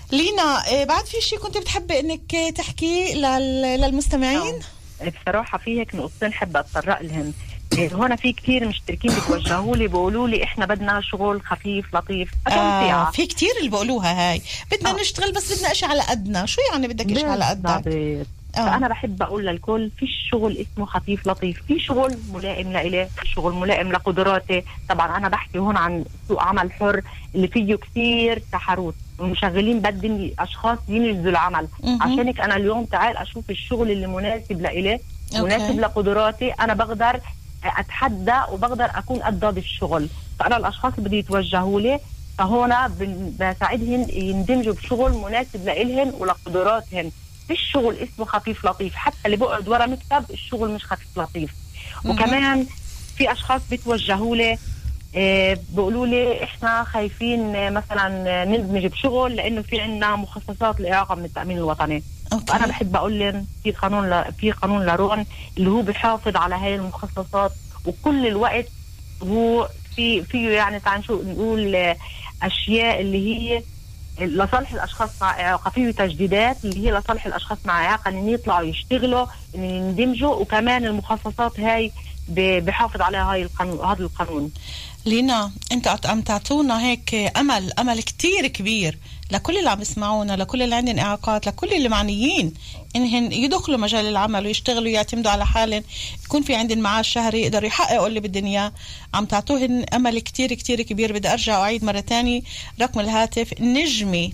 لينا بعد في شيء كنت بتحبي انك تحكي للمستمعين؟ بصراحة في هيك نقطتين حابة اتطرق لهم. هون في كتير مشتركين بتوجهوا لي بيقولوا لي احنا بدنا شغل خفيف لطيف. في كتير اللي بيقولوها هاي بدنا نشتغل بس بدنا اشي على قدنا. شو يعني بدك اشي على قدك؟ فأنا بحب أقول للكل في شغل اسمه خفيف لطيف، في شغل ملائم لإله، في شغل ملائم لقدراتي. طبعا أنا بحكي هون عن سوق عمل حر اللي فيه كتير تحرك، المشغلين بدهم أشخاص ينجزوا العمل. عشانك أنا اليوم تعال أشوف الشغل اللي مناسب لإله، مناسب لقدراتي، أنا بقدر أتحدى وبقدر أكون قد بالشغل. فأنا الأشخاص اللي بدي يتوجهوا لي فهون بساعدهم يندمجوا بشغل مناسب لإلهم ولقدراتهم. في الشغل اسمه خفيف لطيف، حتى اللي بقعد ورا مكتب الشغل مش خفيف لطيف. وكمان في اشخاص بتوجهوا لي بيقولوا لي احنا خايفين مثلا نندمج بشغل لانه في عندنا مخصصات لاعاقه من التامين الوطني. انا بحب اقول لهم في قانون لارون اللي هو بيحافظ على هاي المخصصات، وكل الوقت هو فيه يعني تعال شو نقول اشياء اللي هي لصالح الاشخاص مع اعاقه، فيه تجديدات اللي هي لصالح الاشخاص مع اعاقه ان يطلعوا يشتغلوا ان يندمجوا، وكمان المخصصات هاي بحافظ على هذا القانون. لينا انت عم تعطونا هيك امل كتير كبير لكل اللي عم يسمعونا، لكل اللي عندهم اعاقات، لكل اللي معنيين انهم يدخلوا مجال العمل ويشتغلوا ويعتمدوا على حالهم، يكون في عندهم معاش شهري يقدروا يحققوا اللي بالدنيا. عم تعطوهن امل كتير كتير كبير. بدي ارجع واعيد مره تاني رقم الهاتف نجمي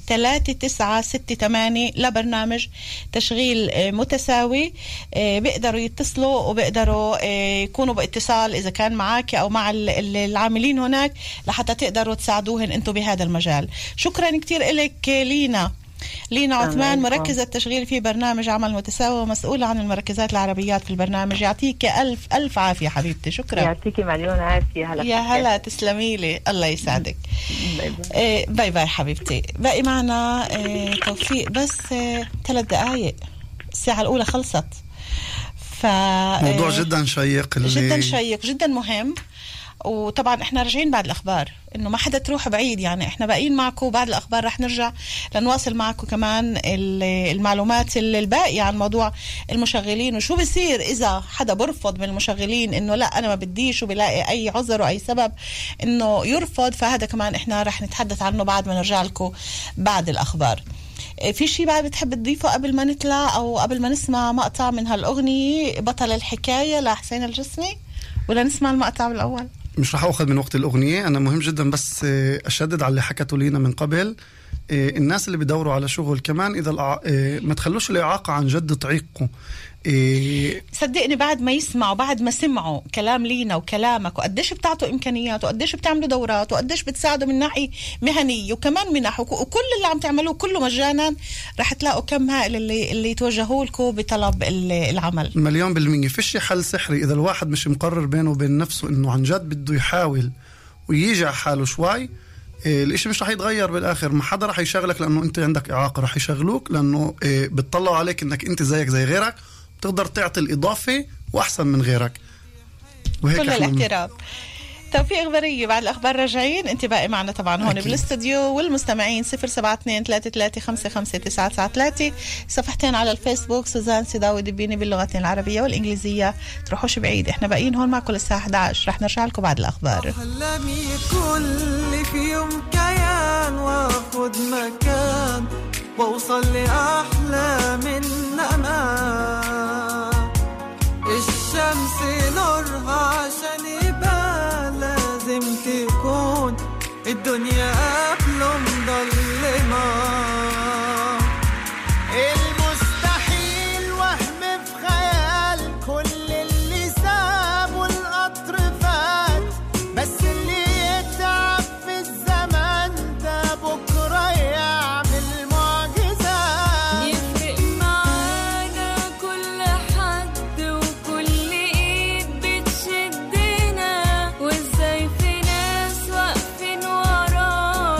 3968 لبرنامج تشغيل متساوي. بيقدروا يتصلوا وبيقدروا يكونوا باتصال اذا كان معك او مع العاملين هناك لحتى تقدروا تساعدوهن انتم بهذا المجال. شكرا كتير لك لينا عثمان، مركزة التشغيل في برنامج عمل متساوي ومسؤولة عن المركزات العربيات في البرنامج. يعطيك ألف عافية حبيبتي. شكرا. يعطيك مليون عافية. يا هلا تسلمي لي، الله يسعدك. باي باي حبيبتي. باقي معنا توفيق بس 3 دقايق، الساعة الأولى خلصت. موضوع جدا شيق جدا شيق جدا مهم. وطبعا احنا راجعين بعد الاخبار، انه ما حدا تروح بعيد، يعني احنا باقيين معكم بعد الاخبار. رح نرجع لنواصل معكم كمان المعلومات الباقية عن موضوع المشغلين، وشو بيصير اذا حدا برفض من المشغلين انه لا انا ما بديش وبلاقي اي عذر واي سبب انه يرفض. فهذا كمان احنا رح نتحدث عنه بعد ما نرجع لكم بعد الاخبار. في شيء بعد بتحب تضيفه قبل ما نطلع او قبل ما نسمع مقطع من هالاغنية بطل الحكاية لحسين الجسمي، ولا نسمع المقطع بالاول؟ مش رح أخذ من وقت الأغنية. أنا مهم جدا بس أشدد على اللي حكته لينا من قبل. الناس اللي بيدوروا على شغل كمان إذا ما تخلوش الإعاقة عن جد تعيقوا. صدقني بعد ما يسمعوا، بعد ما سمعوا كلام لينا وكلامك وقديش بتعطوا إمكانيات وقديش بتعملوا دورات وقديش بتساعدوا من ناحية مهنية وكمان من ناحية وكل اللي عم تعملوه كله مجانا، رح تلاقوا كم هائل اللي يتوجهوا لكم بطلب العمل. 100%. فيش حل سحري إذا الواحد مش مقرر بينه وبين نفسه إنه عن جد بده يحاول ويجي على حاله شوي. الاشي مش رح يتغير بالاخر. ما حدا رح يشغلك لانه انت عندك اعاقه، رح يشغلوك لانه بتطلعوا عليك انك انت زيك زي غيرك، بتقدر تعطي الاضافه واحسن من غيرك. وهيك كل الاحترام. توفيق إخبارية بعد الأخبار راجعين. أنت باقي معنا طبعا هون بالاستوديو، والمستمعين 072-33-55993. صفحتين على الفيسبوك سوزان سيداوي دبيني باللغتين العربية والإنجليزية. تروحوش بعيد، إحنا باقيين هون معكم للساعة 11. رح نرجع لكم بعد الأخبار. أحلامي كل في يوم كيان وأخذ مكان وأوصل لأحلى من أمان. الشمس نورها عشان يبقى لازم تكون الدنيا قبله مضلمة. المستحيل وهم في خيال كل اللي سابوا القطر فات، بس اللي يتعب في الزمن ده بكرة يعمل معجزات. يفرق معانا كل حد وكل ايد بتشدنا، وازاي في ناس واقفين ورانا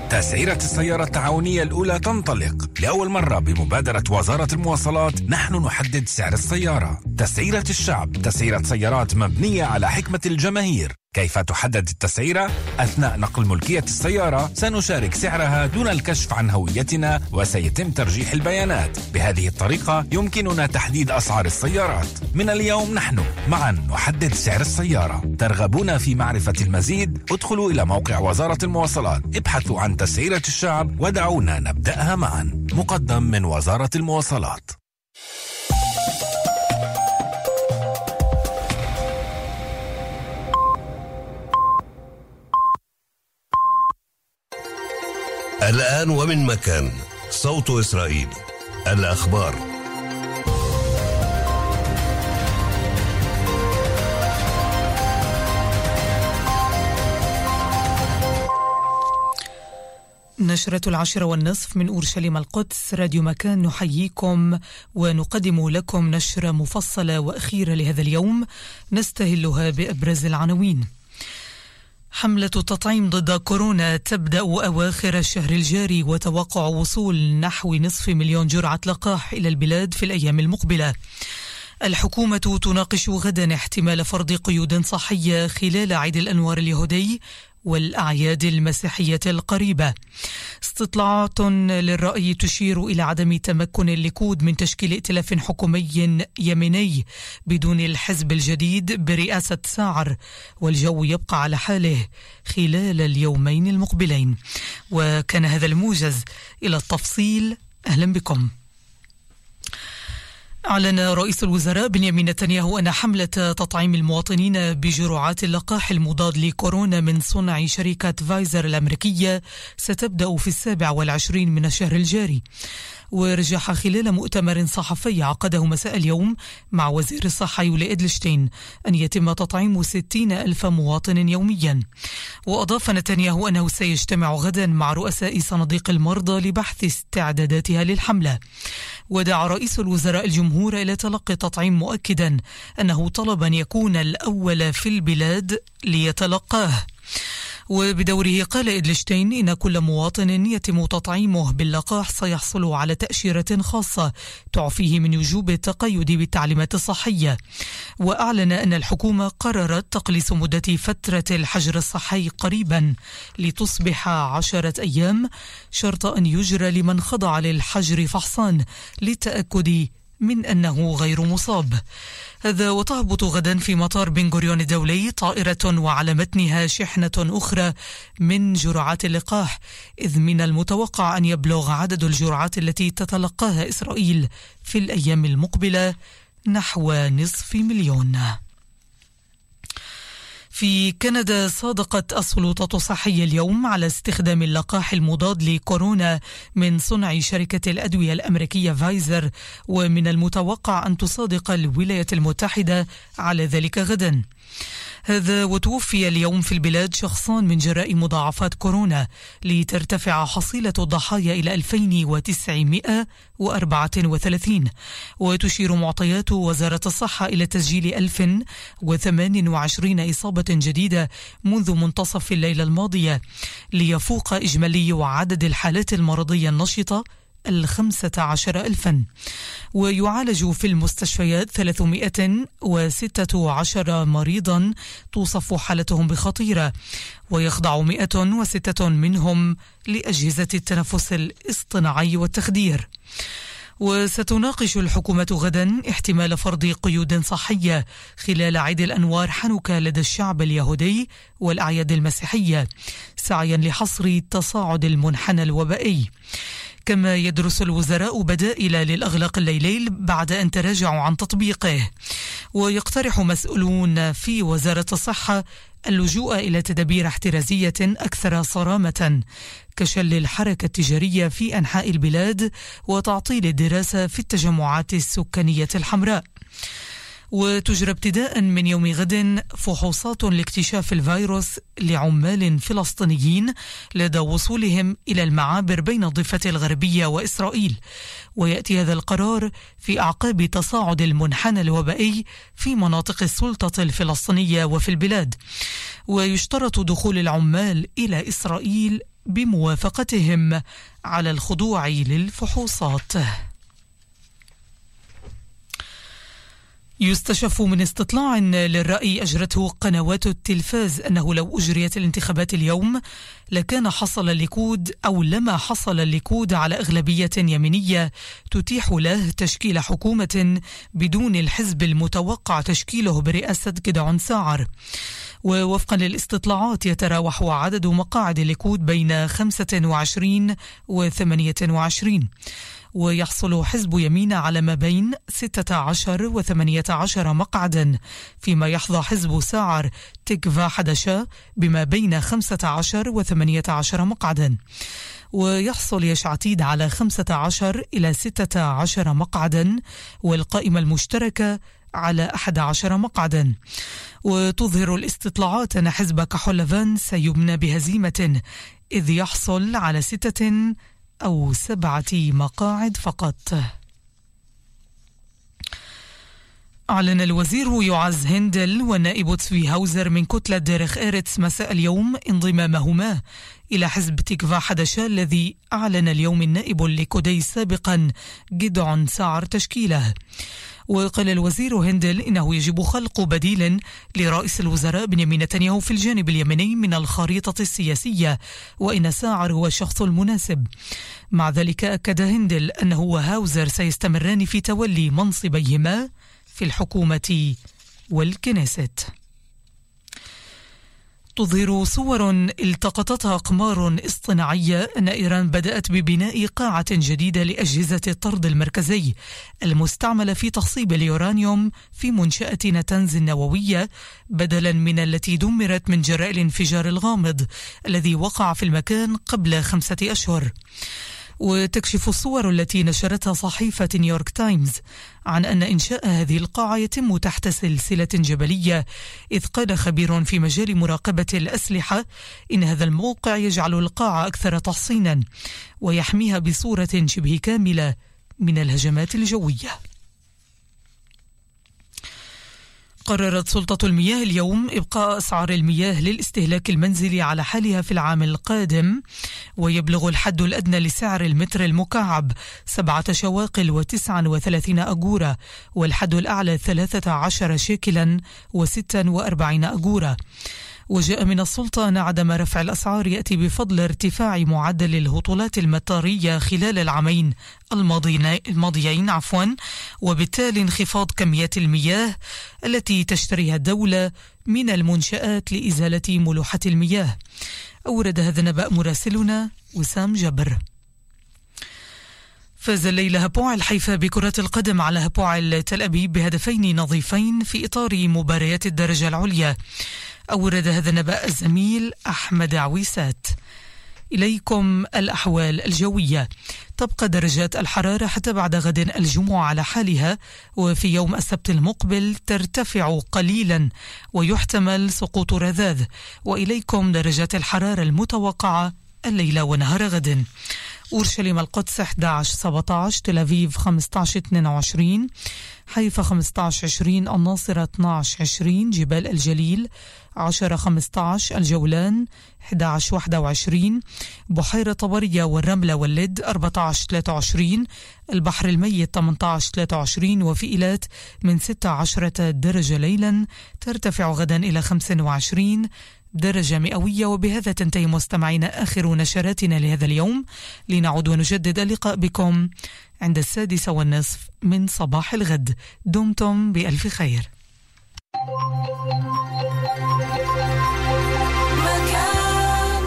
تسعيرة السيارة التعاونية الأولى تنطلق لأول مرة بمبادرة وزارة المواصلات. نحن نحدد سعر السيارة. تسعيرة الشعب، تسعيرة سيارات مبنية على حكمة الجماهير. كيف تحدد التسعيرة؟ أثناء نقل ملكية السيارة سنشارك سعرها دون الكشف عن هويتنا، وسيتم ترجيح البيانات. بهذه الطريقة يمكننا تحديد أسعار السيارات. من اليوم نحن معا نحدد سعر السيارة. ترغبون في معرفة المزيد؟ ادخلوا إلى موقع وزارة المواصلات، ابحثوا عن تسعيرة الشعب ودعونا نبدأها معا. مقدم من وزارة المواصلات. الآن ومن مكان، صوت إسرائيل، الأخبار. نشرة 10:30 من أورشليم القدس، راديو مكان، نحييكم ونقدم لكم نشرة مفصلة وأخيرة لهذا اليوم نستهلها بأبرز العناوين. حملة التطعيم ضد كورونا تبدأ أواخر الشهر الجاري، وتوقع وصول نحو 500,000 جرعة لقاح إلى البلاد في الأيام المقبلة. الحكومة تناقش غدا احتمال فرض قيود صحية خلال عيد الأنوار اليهودي والأعياد المسيحية القريبة. استطلاعات للرأي تشير إلى عدم تمكن الليكود من تشكيل ائتلاف حكومي يميني بدون الحزب الجديد برئاسة ساعر، والجو يبقى على حاله خلال اليومين المقبلين. وكان هذا الموجز. إلى التفصيل، أهلا بكم. أعلن رئيس الوزراء بنيامين نتنياهو أن حملة تطعيم المواطنين بجرعات اللقاح المضاد لكورونا من صنع شركة فايزر الأمريكية ستبدأ في 27 من الشهر الجاري. ورجح خلال مؤتمر صحفي عقده مساء اليوم مع وزير الصحة يولي إدلشتين أن يتم تطعيم 60,000 مواطن يوميا. وأضاف نتنياهو أنه سيجتمع غدا مع رؤساء صناديق المرضى لبحث استعداداتها للحملة. ودعا رئيس الوزراء الجمهور إلى تلقي التطعيم، مؤكدا أنه طلب أن يكون الأول في البلاد ليتلقاه. وبدوره قال إدلشتين إن كل مواطن يتم تطعيمه باللقاح سيحصل على تأشيرة خاصة تعفيه من وجوب التقيد بالتعليمات الصحية. وأعلن أن الحكومة قررت تقليص مدة فترة الحجر الصحي قريبا لتصبح 10 أيام، شرط أن يجرى لمن خضع للحجر فحصان للتأكد من أنه غير مصاب. هذا وتهبط غدا في مطار بن غوريون الدولي طائرة وعلى متنها شحنة أخرى من جرعات اللقاح، إذ من المتوقع أن يبلغ عدد الجرعات التي تتلقاها إسرائيل في الأيام المقبلة نحو 500,000. في كندا صادقت السلطات الصحية اليوم على استخدام اللقاح المضاد لكورونا من صنع شركة الأدوية الأمريكية فايزر، ومن المتوقع أن تصادق الولايات المتحدة على ذلك غدا. هذا وتوفي اليوم في البلاد شخصان من جراء مضاعفات كورونا، لترتفع حصيلة الضحايا إلى 2934. وتشير معطيات وزارة الصحة إلى تسجيل 1028 إصابة جديدة منذ منتصف الليلة الماضية، ليفوق إجمالي عدد الحالات المرضية النشطة 15,000. ويعالج في المستشفيات 316 مريضا توصف حالتهم بخطيرة، ويخضع 106 منهم لأجهزة التنفس الاصطناعي والتخدير. وستناقش الحكومة غدا احتمال فرض قيود صحية خلال عيد الأنوار حنوكا لدى الشعب اليهودي والأعياد المسيحية، سعيا لحصر تصاعد المنحنى الوبائي. كما يدرس الوزراء بدائل للأغلاق الليلي بعد أن تراجعوا عن تطبيقه. ويقترح مسؤولون في وزارة الصحة اللجوء إلى تدابير احترازية أكثر صرامة، كشل الحركة التجارية في أنحاء البلاد وتعطيل الدراسة في التجمعات السكانية الحمراء. وتجرى ابتداء من يوم غد فحوصات لاكتشاف الفيروس لعمال فلسطينيين لدى وصولهم إلى المعابر بين الضفة الغربية وإسرائيل. ويأتي هذا القرار في أعقاب تصاعد المنحنى الوبائي في مناطق السلطة الفلسطينية وفي البلاد. ويشترط دخول العمال إلى إسرائيل بموافقتهم على الخضوع للفحوصات. يستشف من استطلاع للرأي أجرته قنوات التلفاز أنه لو أجريت الانتخابات اليوم لكان حصل الليكود أو لما حصل الليكود على أغلبية يمينية تتيح له تشكيل حكومة بدون الحزب المتوقع تشكيله برئاسة جدعون ساعر. ووفقا للاستطلاعات يتراوح عدد مقاعد الليكود بين 25 و 28، ويحصل حزب يمين على ما بين 16 و 18 مقعدا، فيما يحظى حزب ساعر تكفا حدشا بما بين 15 و 18 مقعدا، ويحصل يشعتيد على 15 إلى 16 مقعدا، والقائمة المشتركة على 11 مقعدا. وتظهر الاستطلاعات أن حزب كحولفان سيبنى بهزيمة إذ يحصل على 6 أو 7 مقاعد فقط. أعلن الوزير يعز هندل والنائب تسوي هاوزر من كتلة ديرخ إيرتس مساء اليوم انضمامهما إلى حزب تكفا حدشا الذي أعلن اليوم النائب الليكودي سابقا جدعون ساعر تشكيله. وقال الوزير هندل إنه يجب خلق بديل لرئيس الوزراء بنيامين نتنياهو في الجانب اليمني من الخريطة السياسية، وإن ساعر هو الشخص المناسب. مع ذلك أكد هندل أنه وهاوزر سيستمران في تولي منصبيهما في الحكومة والكنيست. تظهر صور التقطتها أقمار اصطناعية أن إيران بدأت ببناء قاعة جديدة لأجهزة الطرد المركزي المستعملة في تخصيب اليورانيوم في منشأة نتنز النووية، بدلا من التي دمرت من جراء الانفجار الغامض الذي وقع في المكان قبل 5 أشهر. وتكشف الصور التي نشرتها صحيفة نيويورك تايمز عن أن إنشاء هذه القاعة يتم تحت سلسلة جبلية، إذ قال خبير في مجال مراقبة الأسلحة إن هذا الموقع يجعل القاعة أكثر تحصينا ويحميها بصورة شبه كاملة من الهجمات الجوية. قررت سلطة المياه اليوم إبقاء أسعار المياه للاستهلاك المنزلي على حالها في العام القادم، ويبلغ الحد الأدنى لسعر المتر المكعب 7 شواقل و39 أجورة، والحد الأعلى 13 شيكلا و46 أجورة. وجاء من السلطة أن عدم رفع الأسعار يأتي بفضل ارتفاع معدل الهطولات المطارية خلال العامين الماضيين وبالتالي انخفاض كميات المياه التي تشتريها الدولة من المنشآت لإزالة ملوحة المياه. أورد هذا النبأ مراسلنا وسام جبر. فاز الليلة هبوع الحيفا بكرة القدم على هبوع تل أبيب بهدفين نظيفين في إطار مباريات الدرجة العليا. أورد هذا النبأ الزميل أحمد عويسات. إليكم الأحوال الجوية. تبقى درجات الحرارة حتى بعد غد الجمعة على حالها، وفي يوم السبت المقبل ترتفع قليلا ويحتمل سقوط رذاذ. وإليكم درجات الحرارة المتوقعة الليلة ونهار غد. أورشليم القدس 11-17، تل أبيب 15-22، حيفا 15-20، الناصرة 12-20، جبال الجليل 10-15، الجولان 11-21، بحيرة طبرية والرملة واللد 14-23، البحر الميت 18-23، وفي إيلات من 16 درجة ليلا ترتفع غدا إلى 25 درجة مئوية. وبهذا تنتهي مستمعينا آخر نشراتنا لهذا اليوم، لنعود ونجدد اللقاء بكم عند 6:30 من صباح الغد. دمتم بألف خير. مكان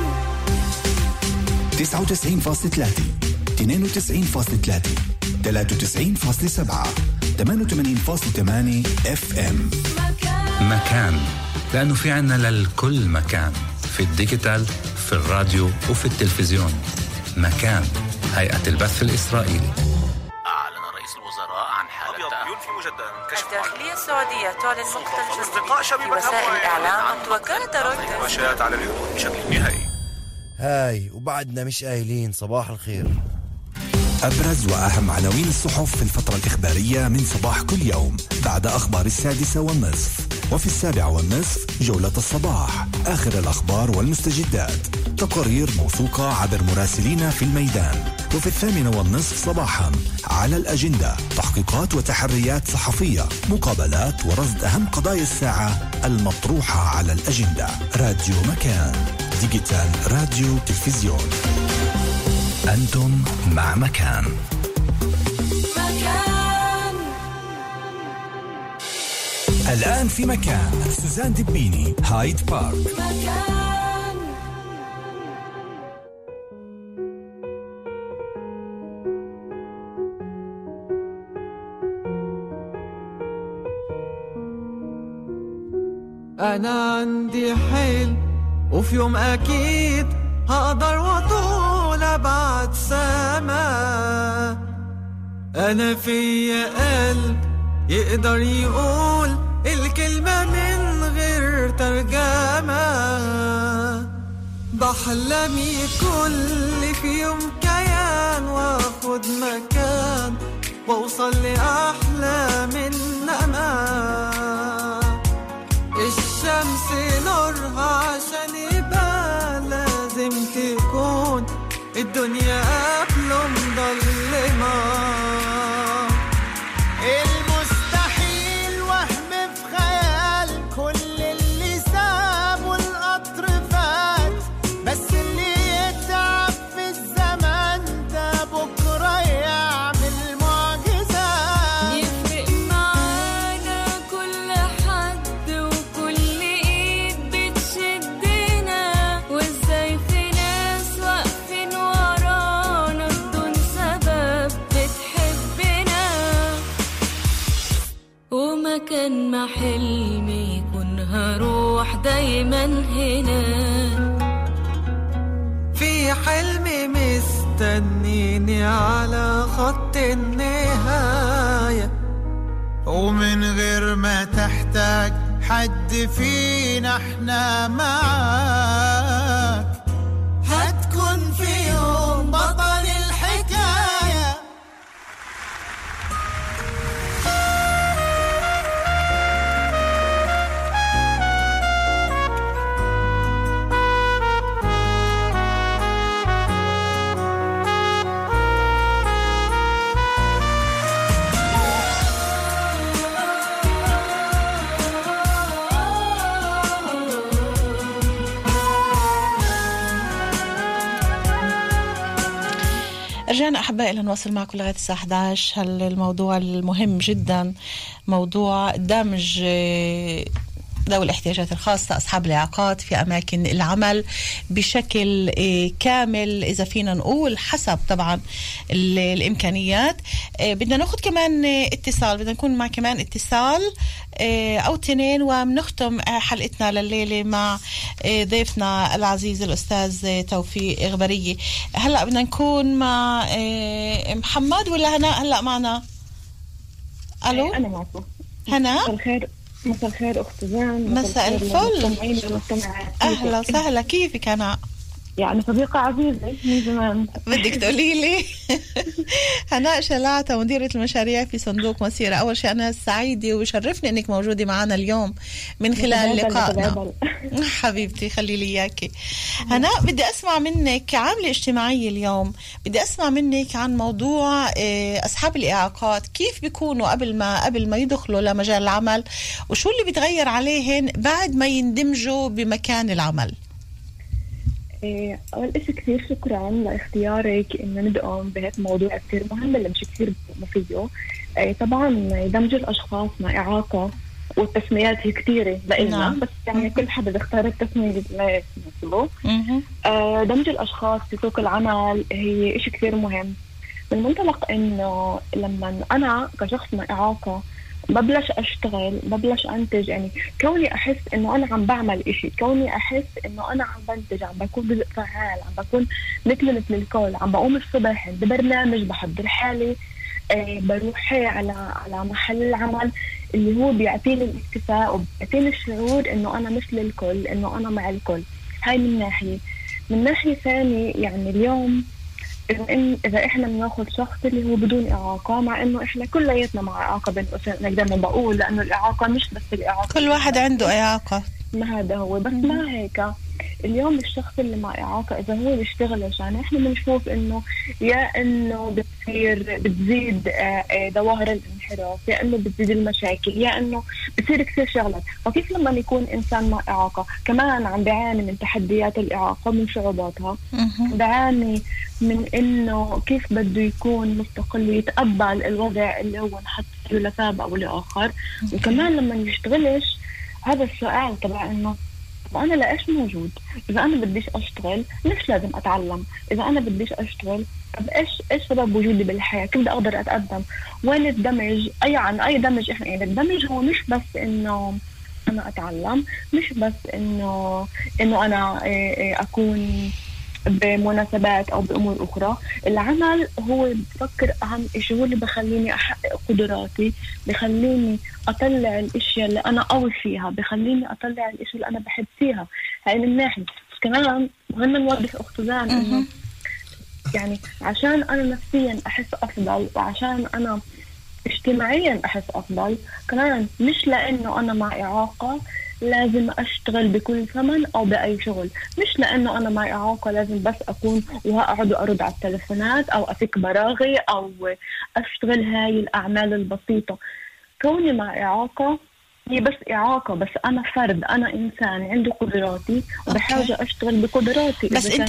99.3 92.3 93.7 88.8 FM. مكان، لأنه في عنا للكل مكان، في الديجيتال، في الراديو وفي التلفزيون. مكان، هيئة البث الإسرائيلي. أعلن رئيس الوزراء عن حالة ينفي مجددا كشف الداخلية السعودية تعلن مقتل اصدقاء شبيبة وسائل الإعلام وكالة رويترز وشاءت على الحدود بشكل نهائي. هاي وبعدنا مش قايلين صباح الخير. أبرز وأهم عناوين الصحف في الفترة الإخبارية من صباح كل يوم بعد أخبار 6:30. وفي 7:30 جولة الصباح، آخر الأخبار والمستجدات، تقارير موثوقة عبر مراسلين في الميدان. وفي 8:30 صباحا على الأجندة، تحقيقات وتحريات صحفية، مقابلات ورصد أهم قضايا الساعة المطروحة على الأجندة. راديو مكان، ديجيتال راديو تلفزيون. أنتم مع مكان. الآن في مكان سوزان دبيني، هايد بارك. أنا عندي حلم وفي يوم أكيد هقدر وطول أبعد سما. أنا في قلب يقدر يقول الكلمة من غير ترجمة. بحلمي كل في يوم كيان واخد مكان واوصل لأحلام النما. الشمس نورها عشان يبقى لازم تكون الدنيا قبله مظلمة. المستحيل وهم في خيال، كل اللي سابوا القطر فات، بس اللي يتعب في الزمن ده بكرة يعمل معجزات. يفرق معانا كل حد وكل ايد بتشدنا، وازاي في ناس واقفين ورانا بدون سبب بتحبنا. ومكان ما حلمي يكون هروح دايما هنا. في حلمي مستنيني على خط النهاية، ومن غير ما تحتاج حد فينا احنا معاك. هتكون في يوم بطل الحكاية. رجعنا أحبائي لنواصل معكم لغاية الساعة 11. الموضوع المهم جدا موضوع دمج ذوي الاحتياجات الخاصة، أصحاب الإعاقات في أماكن العمل بشكل كامل، إذا فينا نقول حسب طبعا الإمكانيات. بدنا ناخد كمان اتصال، بدنا نكون مع كمان اتصال أو 2 ومنختم حلقتنا لليلة مع ضيفنا العزيز الأستاذ توفيق غبرية. هلأ بدنا نكون مع محمد ولا هناء هلأ معنا؟ ألو أنا معكم. هناء، مساء الخير أخت زان. مساء الفل، أهلا وسهلا. كيفك هناء؟ يعني صديقة عزيزة من زمان. بدك تقولي لي هناء شلاعة مديرة المشاريع في صندوق مسيرة. أول شيء أنا سعيدة وشرفني أنك موجودة معنا اليوم من خلال لقائنا. حبيبتي خلي لي إياكي. هناء بدي أسمع منك كعاملة اجتماعية اليوم، بدي أسمع منك عن موضوع أصحاب الإعاقات، كيف بيكونوا قبل ما يدخلوا لمجال العمل، وشو اللي بيتغير عليهن بعد ما يندمجوا بمكان العمل. أول إشي كثير شكرا لاختيارك إنه ندقم بهذا الموضوع كثير مهم اللي مش كثير مفيده. طبعا دمج الأشخاص مع إعاقة والتسميات هي كثيرة لإلنا، بس يعني كل حدا بيختار التسمية اللي تناسبه. دمج الأشخاص في سوق العمل هي إشي كثير مهم، من منطلق إنه لما أنا كشخص مع إعاقة ببلش أشتغل، ببلش أنتج، يعني كوني أحس إنه أنا عم بعمل إشي، كوني أحس إنه أنا عم بنتج، عم بكون جزء فعال، عم بكون مثل الكل، عم بقوم الصبح ببرنامج، بحضر حالي، بروح على محل العمل اللي هو بيعطيني الاكتفاء وبيعطيني الشعور إنه أنا مثل الكل، إنه أنا مع الكل. هاي من ناحية ثانية يعني اليوم إذا إحنا بناخد شخص اللي هو بدون إعاقة، مع إنه إحنا كلياتنا مع إعاقة بين قوسين، أنا دايما بقول لأنه الإعاقة مش بس الإعاقة، كل واحد عنده إعاقة، ما هذا هو. بس مع هيك اليوم الشخص اللي مع إعاقة إذا هو بيشتغلش، يعني إحنا بنشوف إنه يا إنه بتزيد ظواهر الانحراف، يا إنه بتزيد المشاكل، يا إنه بتصير كثير شغلات. وكيف لما يكون إنسان مع إعاقة كمان عم بيعاني من تحديات الإعاقة، من صعوباتها، بيعاني من إنه كيف بده يكون مستقل يتقبل الوضع اللي هو نحط له لسبب أو لآخر. وكمان لما يشتغلش هذا السؤال تبع إنه وأنا لإيش موجود؟ إذا أنا بديش أشتغل ليش لازم أتعلم؟ إذا أنا بديش أشتغل طب إيش سبب وجودي بالحياة؟ كيف بدي أقدر أتقدم؟ وين الدمج؟ أي دمج إحنا يعني الدمج هو مش بس إنه أنا أتعلم، مش بس إنه أنا أكون بمناسبات أو بأمور أخرى. العمل هو بفكر أهم إشي، هو اللي بخليني أحقق قدراتي، بخليني أطلع الأشياء اللي أنا قوي فيها، بخليني أطلع الأشياء اللي أنا بحب فيها. هاي من ناحية. كمان مهم نوضح أخت زان إنه يعني عشان أنا نفسيا أحس أفضل، وعشان أنا اجتماعيا أحس أفضل، كمان مش لأنه أنا مع إعاقة لازم أشتغل بكل ثمن أو بأي شغل، مش لأنه أنا مع إعاقة لازم بس أكون وأقعد أرد على التلفونات أو أفك براغي أو أشتغل هاي الأعمال البسيطة. كوني مع إعاقة هي بس إعاقة، بس أنا فرد، أنا إنسان عنده قدراتي وبحاجة أشتغل بقدراتي. بس أنت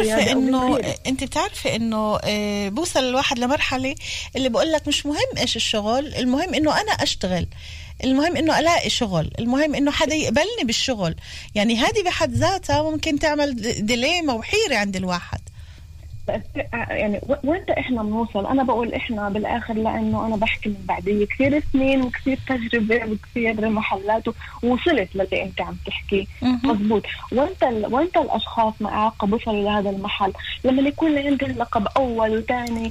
بتعرفي إنه بوصل الواحد لمرحلة اللي بقول لك مش مهم إيش الشغل، المهم إنه أنا أشتغل، المهم إنه ألاقي شغل، المهم إنه حدا يقبلني بالشغل. يعني هذه بحد ذاتها ممكن تعمل ديليما وحيرة عند الواحد. يعني وانت احنا بنوصل، انا بقول احنا بالاخر لانه انا بحكي من بعدي كثير سنين وكثير تجربه وكثير محلات ووصلت للي انت عم تحكي مضبوط. وانت الاشخاص مع إعاقة بوصلوا لهذا المحل لما يكون عندهم لقب اول وثاني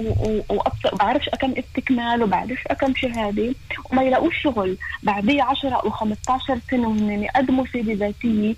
وبعرفش كم استكمال وبعرفش كم شهاده وما يلاقوش شغل بعديه 10 أو 15 سنه وهن يقدموا سيرة ذاتيه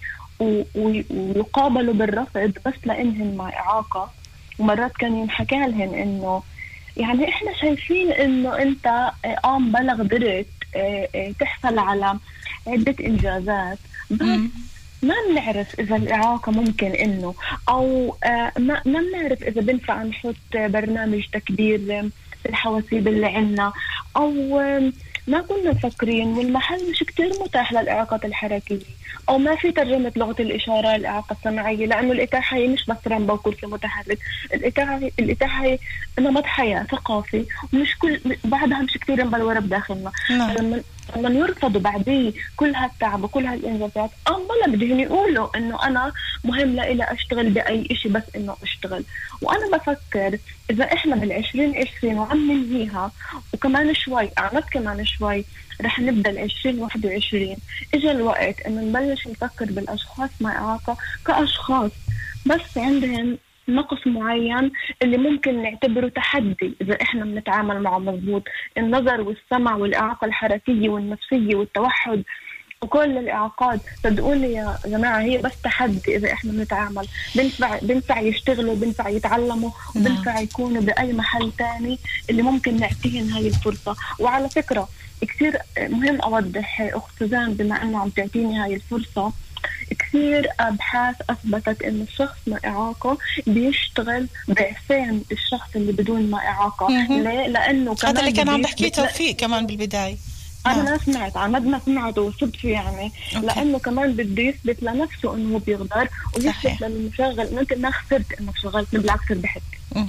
ويقابلوا بالرفض بس لانهم مع إعاقة. ومرات كان ينحكى لهم انه يعني احنا شايفين انه انت بلغ قدرت تحصل على عدة انجازات، بس ما بنعرف اذا الإعاقة ممكن انه او ما بنعرف اذا بنفع نحط برنامج تكبير الحواسيب اللي عنا، او ما كنا مفكرين والمحل مش كتير متاح للإعاقات الحركية، أو ما في ترجمة لغة الإشارة للإعاقة السمعية، لأنه الإتاحة هي مش بس رمبة وكرسي متحرك، الإتاحة هي نمط حياة ثقافي ومش كل بعدها مش كتير مبلورة بداخلنا. لما يرفضوا بعديه كل هالتعب وكل هالإنجازات بلا بدهم يقولوا إنه أنا مهم لإلي أشتغل بأي إشي بس إنه أشتغل. وأنا بفكر إذا إحنا بال2020 وعم ننهيها وكمان شوي كمان شوي رح نبدأ 2021 إجا الوقت إنه نبلش نفكر بالأشخاص مع إعاقة كأشخاص بس عندهم نقص معين اللي ممكن نعتبره تحدي إذا إحنا بنتعامل معه مضبوط. النظر والسمع والإعاقة الحركية والنفسية والتوحد وكل الإعاقات صدقوني يا جماعة هي بس تحدي إذا إحنا بنتعامل. بنفع يشتغلوا، بنفع يتعلموا، وبنفع يكونوا بأي محل تاني اللي ممكن نعطيهم هاي الفرصة. وعلى فكرة كثير مهم أوضح أخت سوزان بما أنه عم تعطيني هاي الفرصة، كثير أبحاث أثبتت إن الشخص مع إعاقة بيشتغل ضعفين الشخص اللي بدون مع إعاقة. ليه؟ لأنه هذا اللي كان عم بحكيه توفيق كمان بالبداية. أنا ما سمعت ما سمعت وصدفة يعني لأنه كمان بده يثبت لنفسه إنه بيقدر ويثبت للمشغل إنه أنت ما خسرت إنك شغلت، بالعكس ربحت.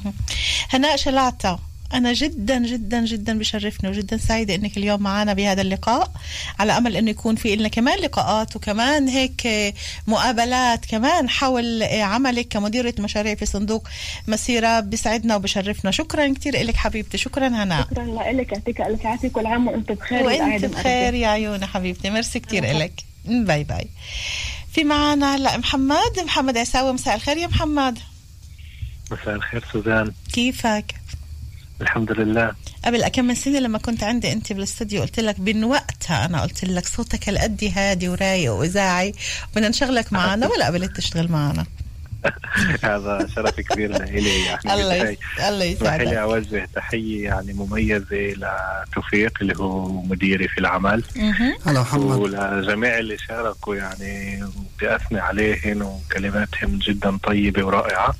هناء شلعتة، أنا جدا جدا جدا بشرفني وجدا سعيدة إنك اليوم معنا بهذا اللقاء، على أمل إنه يكون في لنا كمان لقاءات وكمان هيك مقابلات كمان حول عملك كمديرة مشاريع في صندوق مسيرة. بسعدنا وبشرفنا. شكرا كتير إلك حبيبتي. شكرا هناء. شكرا لك، يعطيك ألف عافية، كل عام وأنت بخير. وأنت بخير يا عيوني حبيبتي، ميرسي كتير إلك. باي باي. في معنا هلا محمد عساوي. مساء الخير يا محمد. مساء الخير سوزان، كيفك؟ الحمد لله. قبل كم من سنة لما كنت عندي انت بالاستوديو قلت لك من وقتها انا قلت لك صوتك القدي هادي ورايق واذاعي بدنا نشغلك معنا، ولا قبلت تشتغل معنا؟ هذا شرف كبير لي يعني. الله يسعدك. لي أوجه تحية يعني مميزة لتوفيق اللي هو مديري في العمل، هلا محمد، ولجميع اللي شاركوا يعني، بدي أثني عليهم وكلماتهم جدا طيبة ورائعة.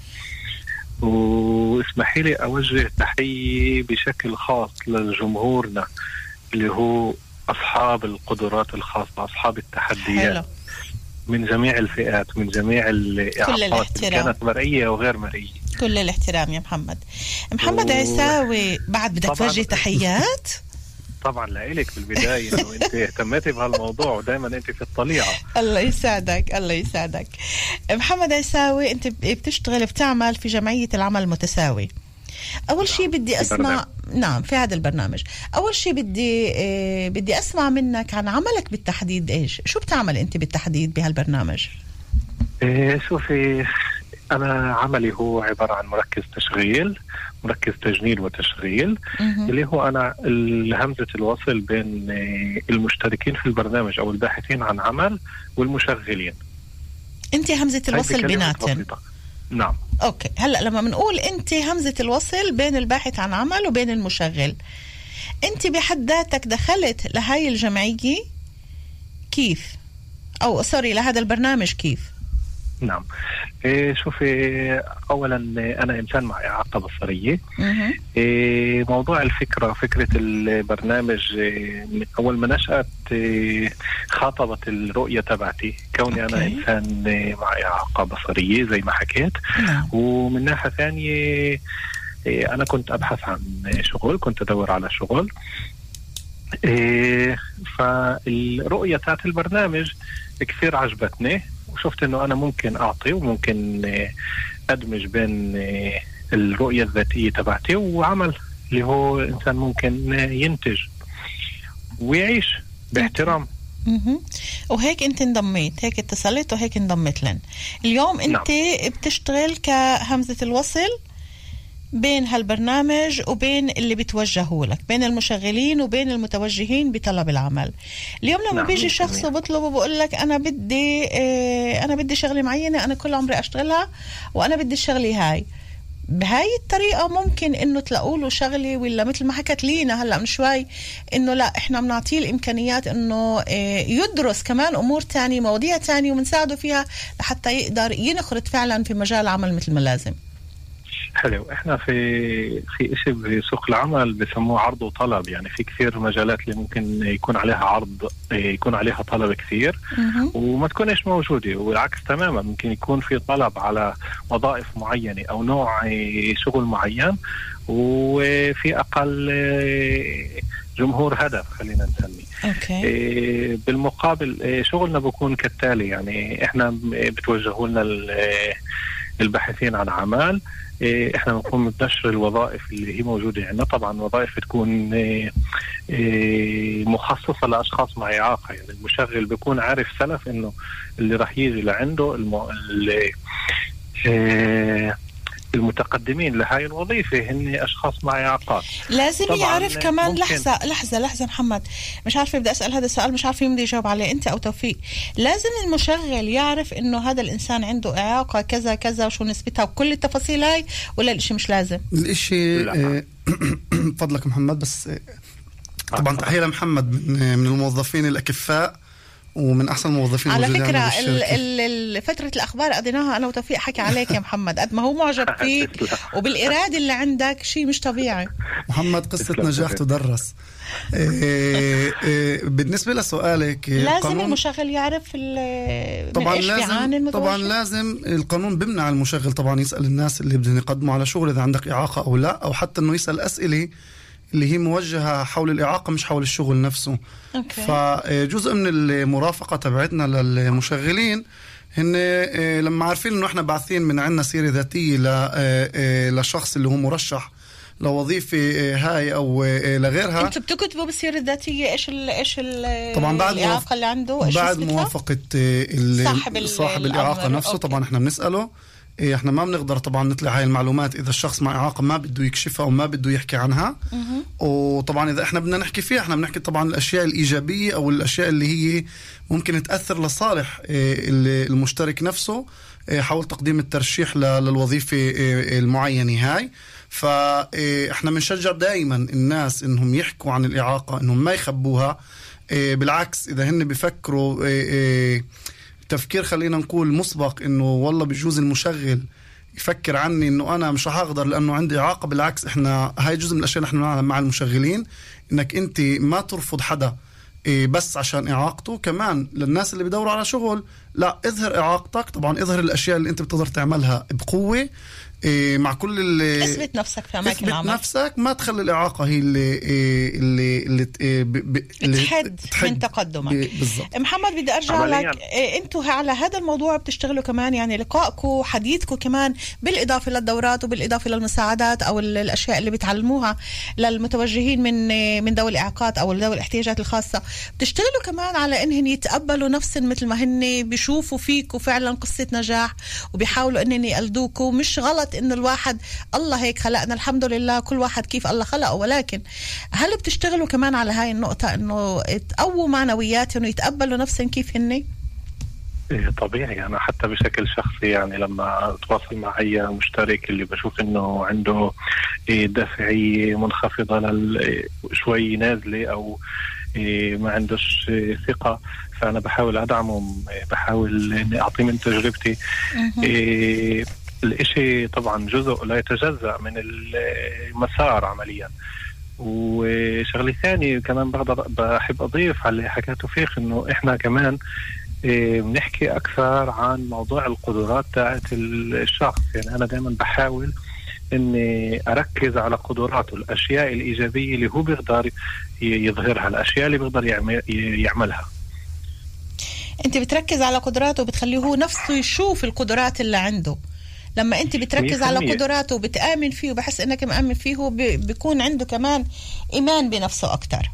واسمحي لي أوجه تحية بشكل خاص لجمهورنا اللي هو أصحاب القدرات الخاصة، أصحاب التحديات. حلو. من جميع الفئات، من جميع الإعاقات، كانت مرئية وغير مرئية. كل الاحترام يا محمد عيساوي. بعد بدك توجه تحيات؟ طبعا لإلك في البداية إنه أنت اهتمتي بهالموضوع ودائما أنت في الطليعة. الله يسعدك. محمد عيساوي، أنت بتعمل في جمعية العمل المتساوي. أول شيء بدي أسمع في هذا البرنامج. أول شيء بدي أسمع منك عن عملك بالتحديد. شو بتعمل أنت بالتحديد بهالبرنامج؟ شوفي، أنا عملي هو عبارة عن مركز تجنيد وتشغيل، اللي هو أنا همزة الوصل بين المشتركين في البرنامج أو الباحثين عن عمل والمشغلين. أنت همزة الوصل بيناتن؟ نعم. أوكي، هلأ لما بنقول أنت همزة الوصل بين الباحث عن عمل وبين المشغل، أنت بحد ذاتك دخلت لهاي الجمعية كيف؟ أو سوري، لهذا البرنامج كيف؟ نعم. شوفي، أولا أنا إنسان مع إعاقة بصرية. موضوع فكرة البرنامج من أول ما نشأت خاطبت الرؤية تبعتي، كوني أنا إنسان مع إعاقة بصرية زي ما حكيت. ومن ناحية ثانية أنا كنت أبحث عن شغل، كنت أدور على شغل. فالرؤية تاعت البرنامج كثير عجبتني، وشفت انه انا ممكن اعطي وممكن ادمج بين الرؤية الذاتية تبعتي وعمل اللي هو انسان ممكن ينتج ويعيش باحترام. وهيك انت انضميت، هيك اتصلت وهيك انضمت لن. اليوم انت بتشتغل كهمزة الوصل بين هالبرنامج وبين اللي بتوجهوا لك، بين المشغلين وبين المتوجهين بطلب العمل. اليوم لما بيجي شخص وبطلب وبقول لك أنا بدي شغلة معينة، أنا كل عمري أشتغلها وأنا بدي الشغلة هاي، بهاي الطريقة ممكن إنه تلاقوا له شغلة، ولا مثل ما حكت لينا هلأ من شوي إنه لا، إحنا بنعطيه الإمكانيات إنه يدرس كمان أمور تانية، مواضيع تانية، ومنساعده فيها لحتى يقدر ينخرط فعلا في مجال العمل مثل ما لازم. حلو. احنا في اشي بسوق العمل بسموه عرض وطلب، يعني في كثير مجالات اللي ممكن يكون عليها عرض، يكون عليها طلب كثير وما تكونش موجودة، والعكس تماما، ممكن يكون في طلب على وظائف معينة او نوع شغل معين وفي اقل جمهور هدف خلينا نسميه. بالمقابل شغلنا بيكون كالتالي، يعني احنا بتوجهوا لنا الباحثين عن عمل، احنا بنقوم بنشر الوظائف اللي هي موجودة عندنا. طبعا وظائف تكون مخصصة لأشخاص مع إعاقة، يعني المشغل بيكون عارف سلف انه اللي راح يجي لعنده المتقدمين لهاي الوظيفة هن أشخاص مع إعاقات. لازم يعرف كمان. لحظة محمد، مش عارفة بدي أسأل هذا السؤال، مش عارفة مين بدي يجاوب عليه، أنت أو توفيق. لازم المشغل يعرف إنه هذا الإنسان عنده إعاقة كذا كذا وشو نسبتها وكل التفاصيل هاي، ولا الإشي مش لازم؟ الإشي فضلك محمد، بس طبعا تحية لمحمد من الموظفين الأكفاء ومن أحسن الموظفين. على فكرة فترة الأخبار قضيناها أنا وتوفيق حكي عليك يا محمد، قد ما هو معجب فيك وبالإرادة اللي عندك، شيء مش طبيعي. محمد قصة نجاح تدرس. بالنسبة لسؤالك، لازم المشغل يعرف طبعا لازم القانون بمنع المشغل طبعا يسأل الناس اللي بدهم يقدموا على شغل إذا عندك إعاقة أو لا، أو حتى أنه يسأل أسئلة اللي هي موجهة حول الإعاقة مش حول الشغل نفسه. فجزء من المرافقة تبعتنا للمشغلين هن لما عارفين إنه إحنا باعثين من عنا سيرة ذاتية لشخص اللي هو مرشح لوظيفة هاي أو لغيرها. أنتوا بتكتبوا بالسيرة الذاتية إيش طبعا بعد الإعاقة اللي عنده، بعد موافقة صاحب الإعاقة نفسه. طبعا إحنا بنسأله، احنا ما بنقدر طبعا نطلع هاي المعلومات اذا الشخص مع إعاقة ما بده يكشفها وما بده يحكي عنها. وطبعا اذا احنا بدنا نحكي فيها، احنا بنحكي طبعا الاشياء الايجابية او الاشياء اللي هي ممكن تأثر لصالح المشترك نفسه، حول تقديم الترشيح للوظيفة المعينة هاي. فاحنا بنشجع دائما الناس انهم يحكوا عن الإعاقة، انهم ما يخبوها. بالعكس إذا هن بيفكروا تفكير خلينا نقول مسبق انه والله بجوز المشغل يفكر عني انه انا مش هقدر لانه عندي إعاقة، بالعكس احنا هاي جزء من الاشياء نحن نعملها مع المشغلين، انك انت ما ترفض حدا بس عشان إعاقته. كمان للناس اللي بدوروا على شغل، لا اظهر إعاقتك، طبعا اظهر الاشياء اللي انت بتقدر تعملها بقوة مع كل اثبت نفسك في اماكن العمل، اثبت نفسك، ما تخلي الإعاقة هي اللي تحد من تقدمك. بالضبط. محمد بدي ارجع لك، انتوا على هذا الموضوع بتشتغلوا كمان، يعني لقائكم حديثكم كمان بالاضافه للدورات وبالاضافه للمساعدات او الاشياء اللي بتعلموها للمتوجهين من ذوي الاعاقات او ذوي الاحتياجات الخاصه، بتشتغلوا كمان على انهم يتقبلوا نفسهم مثل ما هن، بيشوفوا فيكم فعلا قصه نجاح وبيحاولوا انهم يقلدوكم. مش غلط انه الواحد الله هيك خلقنا، الحمد لله كل واحد كيف الله خلقه، ولكن هل بتشتغلوا كمان على هاي النقطة انه تقووا معنوياتهم ويتقبلوا نفسهم كيف هن؟ طبيعي. أنا حتى بشكل شخصي يعني لما أتواصل مع أي مشترك اللي بشوف إنه عنده دافعية منخفضة شوي نازلة أو ما عندوش ثقة، فأنا بحاول أدعمه، بحاول إني أعطيه من تجربتي. الإشي طبعا جزء لا يتجزأ من المسار عمليا. وشغلة ثانية كمان بحب أضيف على اللي حكاته فيخ، إنه إحنا كمان بنحكي أكثر عن موضوع القدرات تاعت الشخص. يعني أنا دائما بحاول إني أركز على قدراته، الأشياء الإيجابية اللي هو بيقدر يظهرها، الأشياء اللي بيقدر يعملها. أنت بتركز على قدراته وبتخليه هو نفسه يشوف القدرات اللي عنده. لما انت بتركز على قدراته وبتآمن فيه وبحس انك مآمن فيه، هو بيكون عنده كمان ايمان بنفسه اكتر.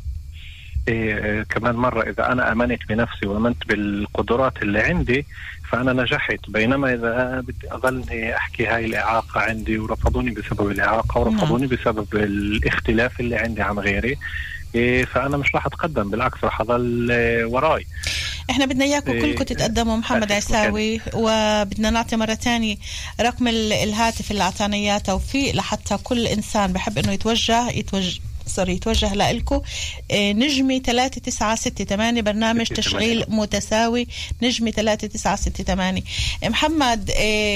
كمان مرة اذا انا امنت بنفسي وامنت بالقدرات اللي عندي فانا نجحت. بينما اذا بدي اظلني احكي هاي الاعاقة عندي ورفضوني بسبب الاعاقة ورفضوني بسبب الاختلاف اللي عندي عن غيري، فانا مش راح اتقدم، بالعكس راح اضل وراي. احنا بدنا اياكم كلكم تتقدموا. محمد عيساوي، وبدنا نعطي مرة تاني رقم الهاتف اللي اعطانا اياه توفيق، لحتى كل انسان بحب انه يتوجه لإلكم. نجمي 3968 برنامج تشغيل متساوي، نجمي 3968. محمد،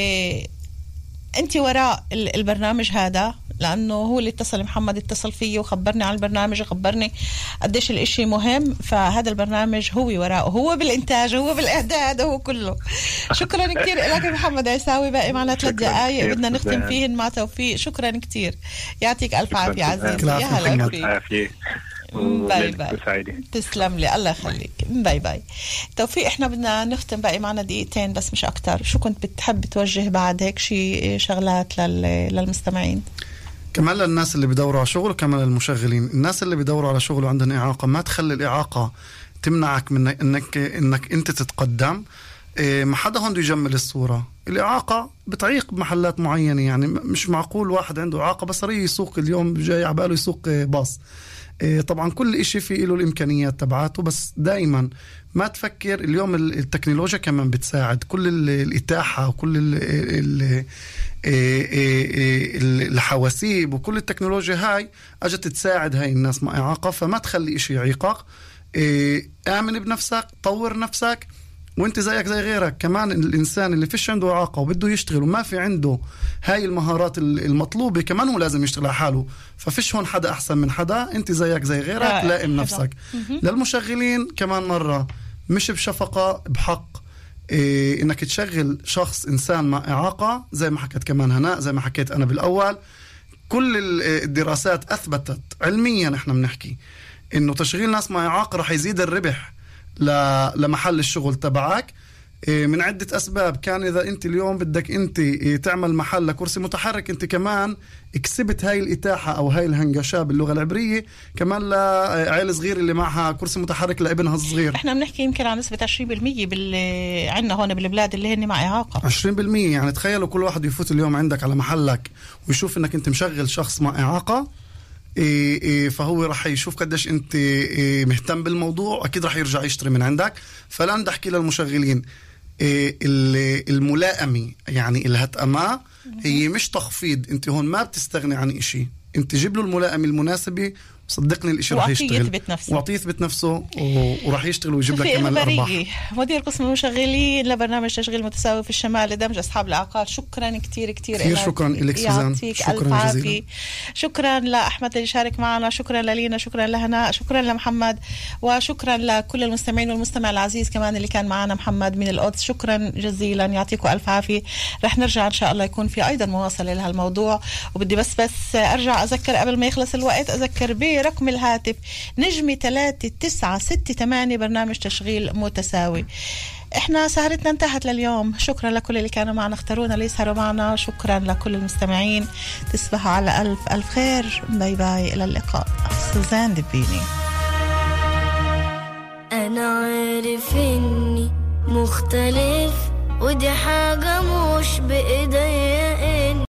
انت وراء البرنامج هذا، لانه هو اللي اتصل، محمد اتصل فيه وخبرني عن البرنامج وخبرني قديش الاشي مهم. فهذا البرنامج هو وراءه، هو بالانتاج، هو بالاعداد، هو كله. شكرا كتير لك محمد عيساوي. باقي معنا 3 دقائق بدنا نختم فيهن مع توفيق. شكرا كتير، يعطيك الف عافيه عزيزي. يا هلا فيك. باي باي. تسلم لي، الله يخليك. باي باي توفيق. احنا بدنا نختم، باقي معنا دقيقتين بس مش اكتر. شو كنت بتحب توجه بعد هيك شي شغلات للمستمعين؟ كمان للناس اللي بدوروا على شغل وكمان للمشغلين. الناس اللي بدوروا على شغل وعندهم إعاقة، ما تخلي الإعاقة تمنعك من انك انت تتقدم. ما حدا هون يجمل الصورة. الإعاقة بتعيق بمحلات معينة، يعني مش معقول واحد عنده إعاقة بصرية يسوق اليوم جاي عباله يسوق باص. طبعا كل إشي فيه له الإمكانيات تبعاته، بس دايما ما تفكر. اليوم التكنولوجيا كمان بتساعد، كل الإتاحة وكل الحواسيب وكل التكنولوجيا هاي أجت تساعد هاي الناس مع إعاقة. فما تخلي إشي يعيقك. آمن بنفسك، طور نفسك، وانت زيك زي غيرك. كمان الإنسان اللي فيش عنده إعاقة وبده يشتغل وما في عنده هاي المهارات المطلوبة، كمان هو لازم يشتغل على حاله. ففيش هون حدا أحسن من حدا، انت زيك زي غيرك، لائم نفسك. للمشغلين كمان مرة، مش بشفقة، بحق. انك تشغل شخص إنسان مع إعاقة، زي ما حكيت كمان هناء، زي ما حكيت أنا بالأول. كل الدراسات أثبتت علميا، احنا بنحكي انه تشغيل ناس مع إعاقة رح يزيد الربح لمحل الشغل تبعك من عدة أسباب. كان إذا أنت اليوم بدك أنت تعمل محل لكرسي متحرك، أنت كمان اكسبت هاي الإتاحة أو هاي الهنجشة باللغة العبرية كمان لعائلة صغير اللي معها كرسي متحرك لابنها الصغير. إحنا بنحكي يمكن عن نسبة 20% عنا هون بالبلاد اللي هن مع إعاقة. 20%. يعني تخيلوا كل واحد يفوت اليوم عندك على محلك ويشوف إنك أنت مشغل شخص مع إعاقة، فهو رح يشوف قديش أنت مهتم بالموضوع، أكيد رح يرجع يشتري من عندك. فلا ندحكي للمشغلين، الملائمة يعني الهتأمة هي مش تخفيض. انت هون ما بتستغني عن اشي، انت جيب له الملائمة المناسبة، صدقني الاشي راح يشتغل واعطيه يثبت نفسه وراح يشتغل ويجيب لك كمان الارباح. مدير قسم المشغلين لبرنامج تشغيل متساوي في الشمال لدمج اصحاب الاعاقات، شكرا كثير شكرا لك سوزان، شكرا جزيلا. شكرا لاحمد اللي شارك معنا، شكرا للينا، شكرا لهناء، شكرا لمحمد، وشكرا لكل المستمعين والمستمع العزيز كمان اللي كان معنا محمد من القدس، شكرا جزيلا، يعطيكم الف عافيه. رح نرجع ان شاء الله يكون في ايضا مواصله لهالموضوع. وبدي بس ارجع اذكر قبل ما يخلص الوقت، اذكر برقم الهاتف نجمة 3968 برنامج تشغيل متساوي. احنا سهرتنا انتهت لليوم، شكرا لكل اللي كانوا معنا اختارونا ليسهروا معنا، شكرا لكل المستمعين، تصبحوا على ألف ألف خير، باي باي، إلى اللقاء. سوزان دبيني. أنا عارف إني مختلف ودي حاجة مش بإيديا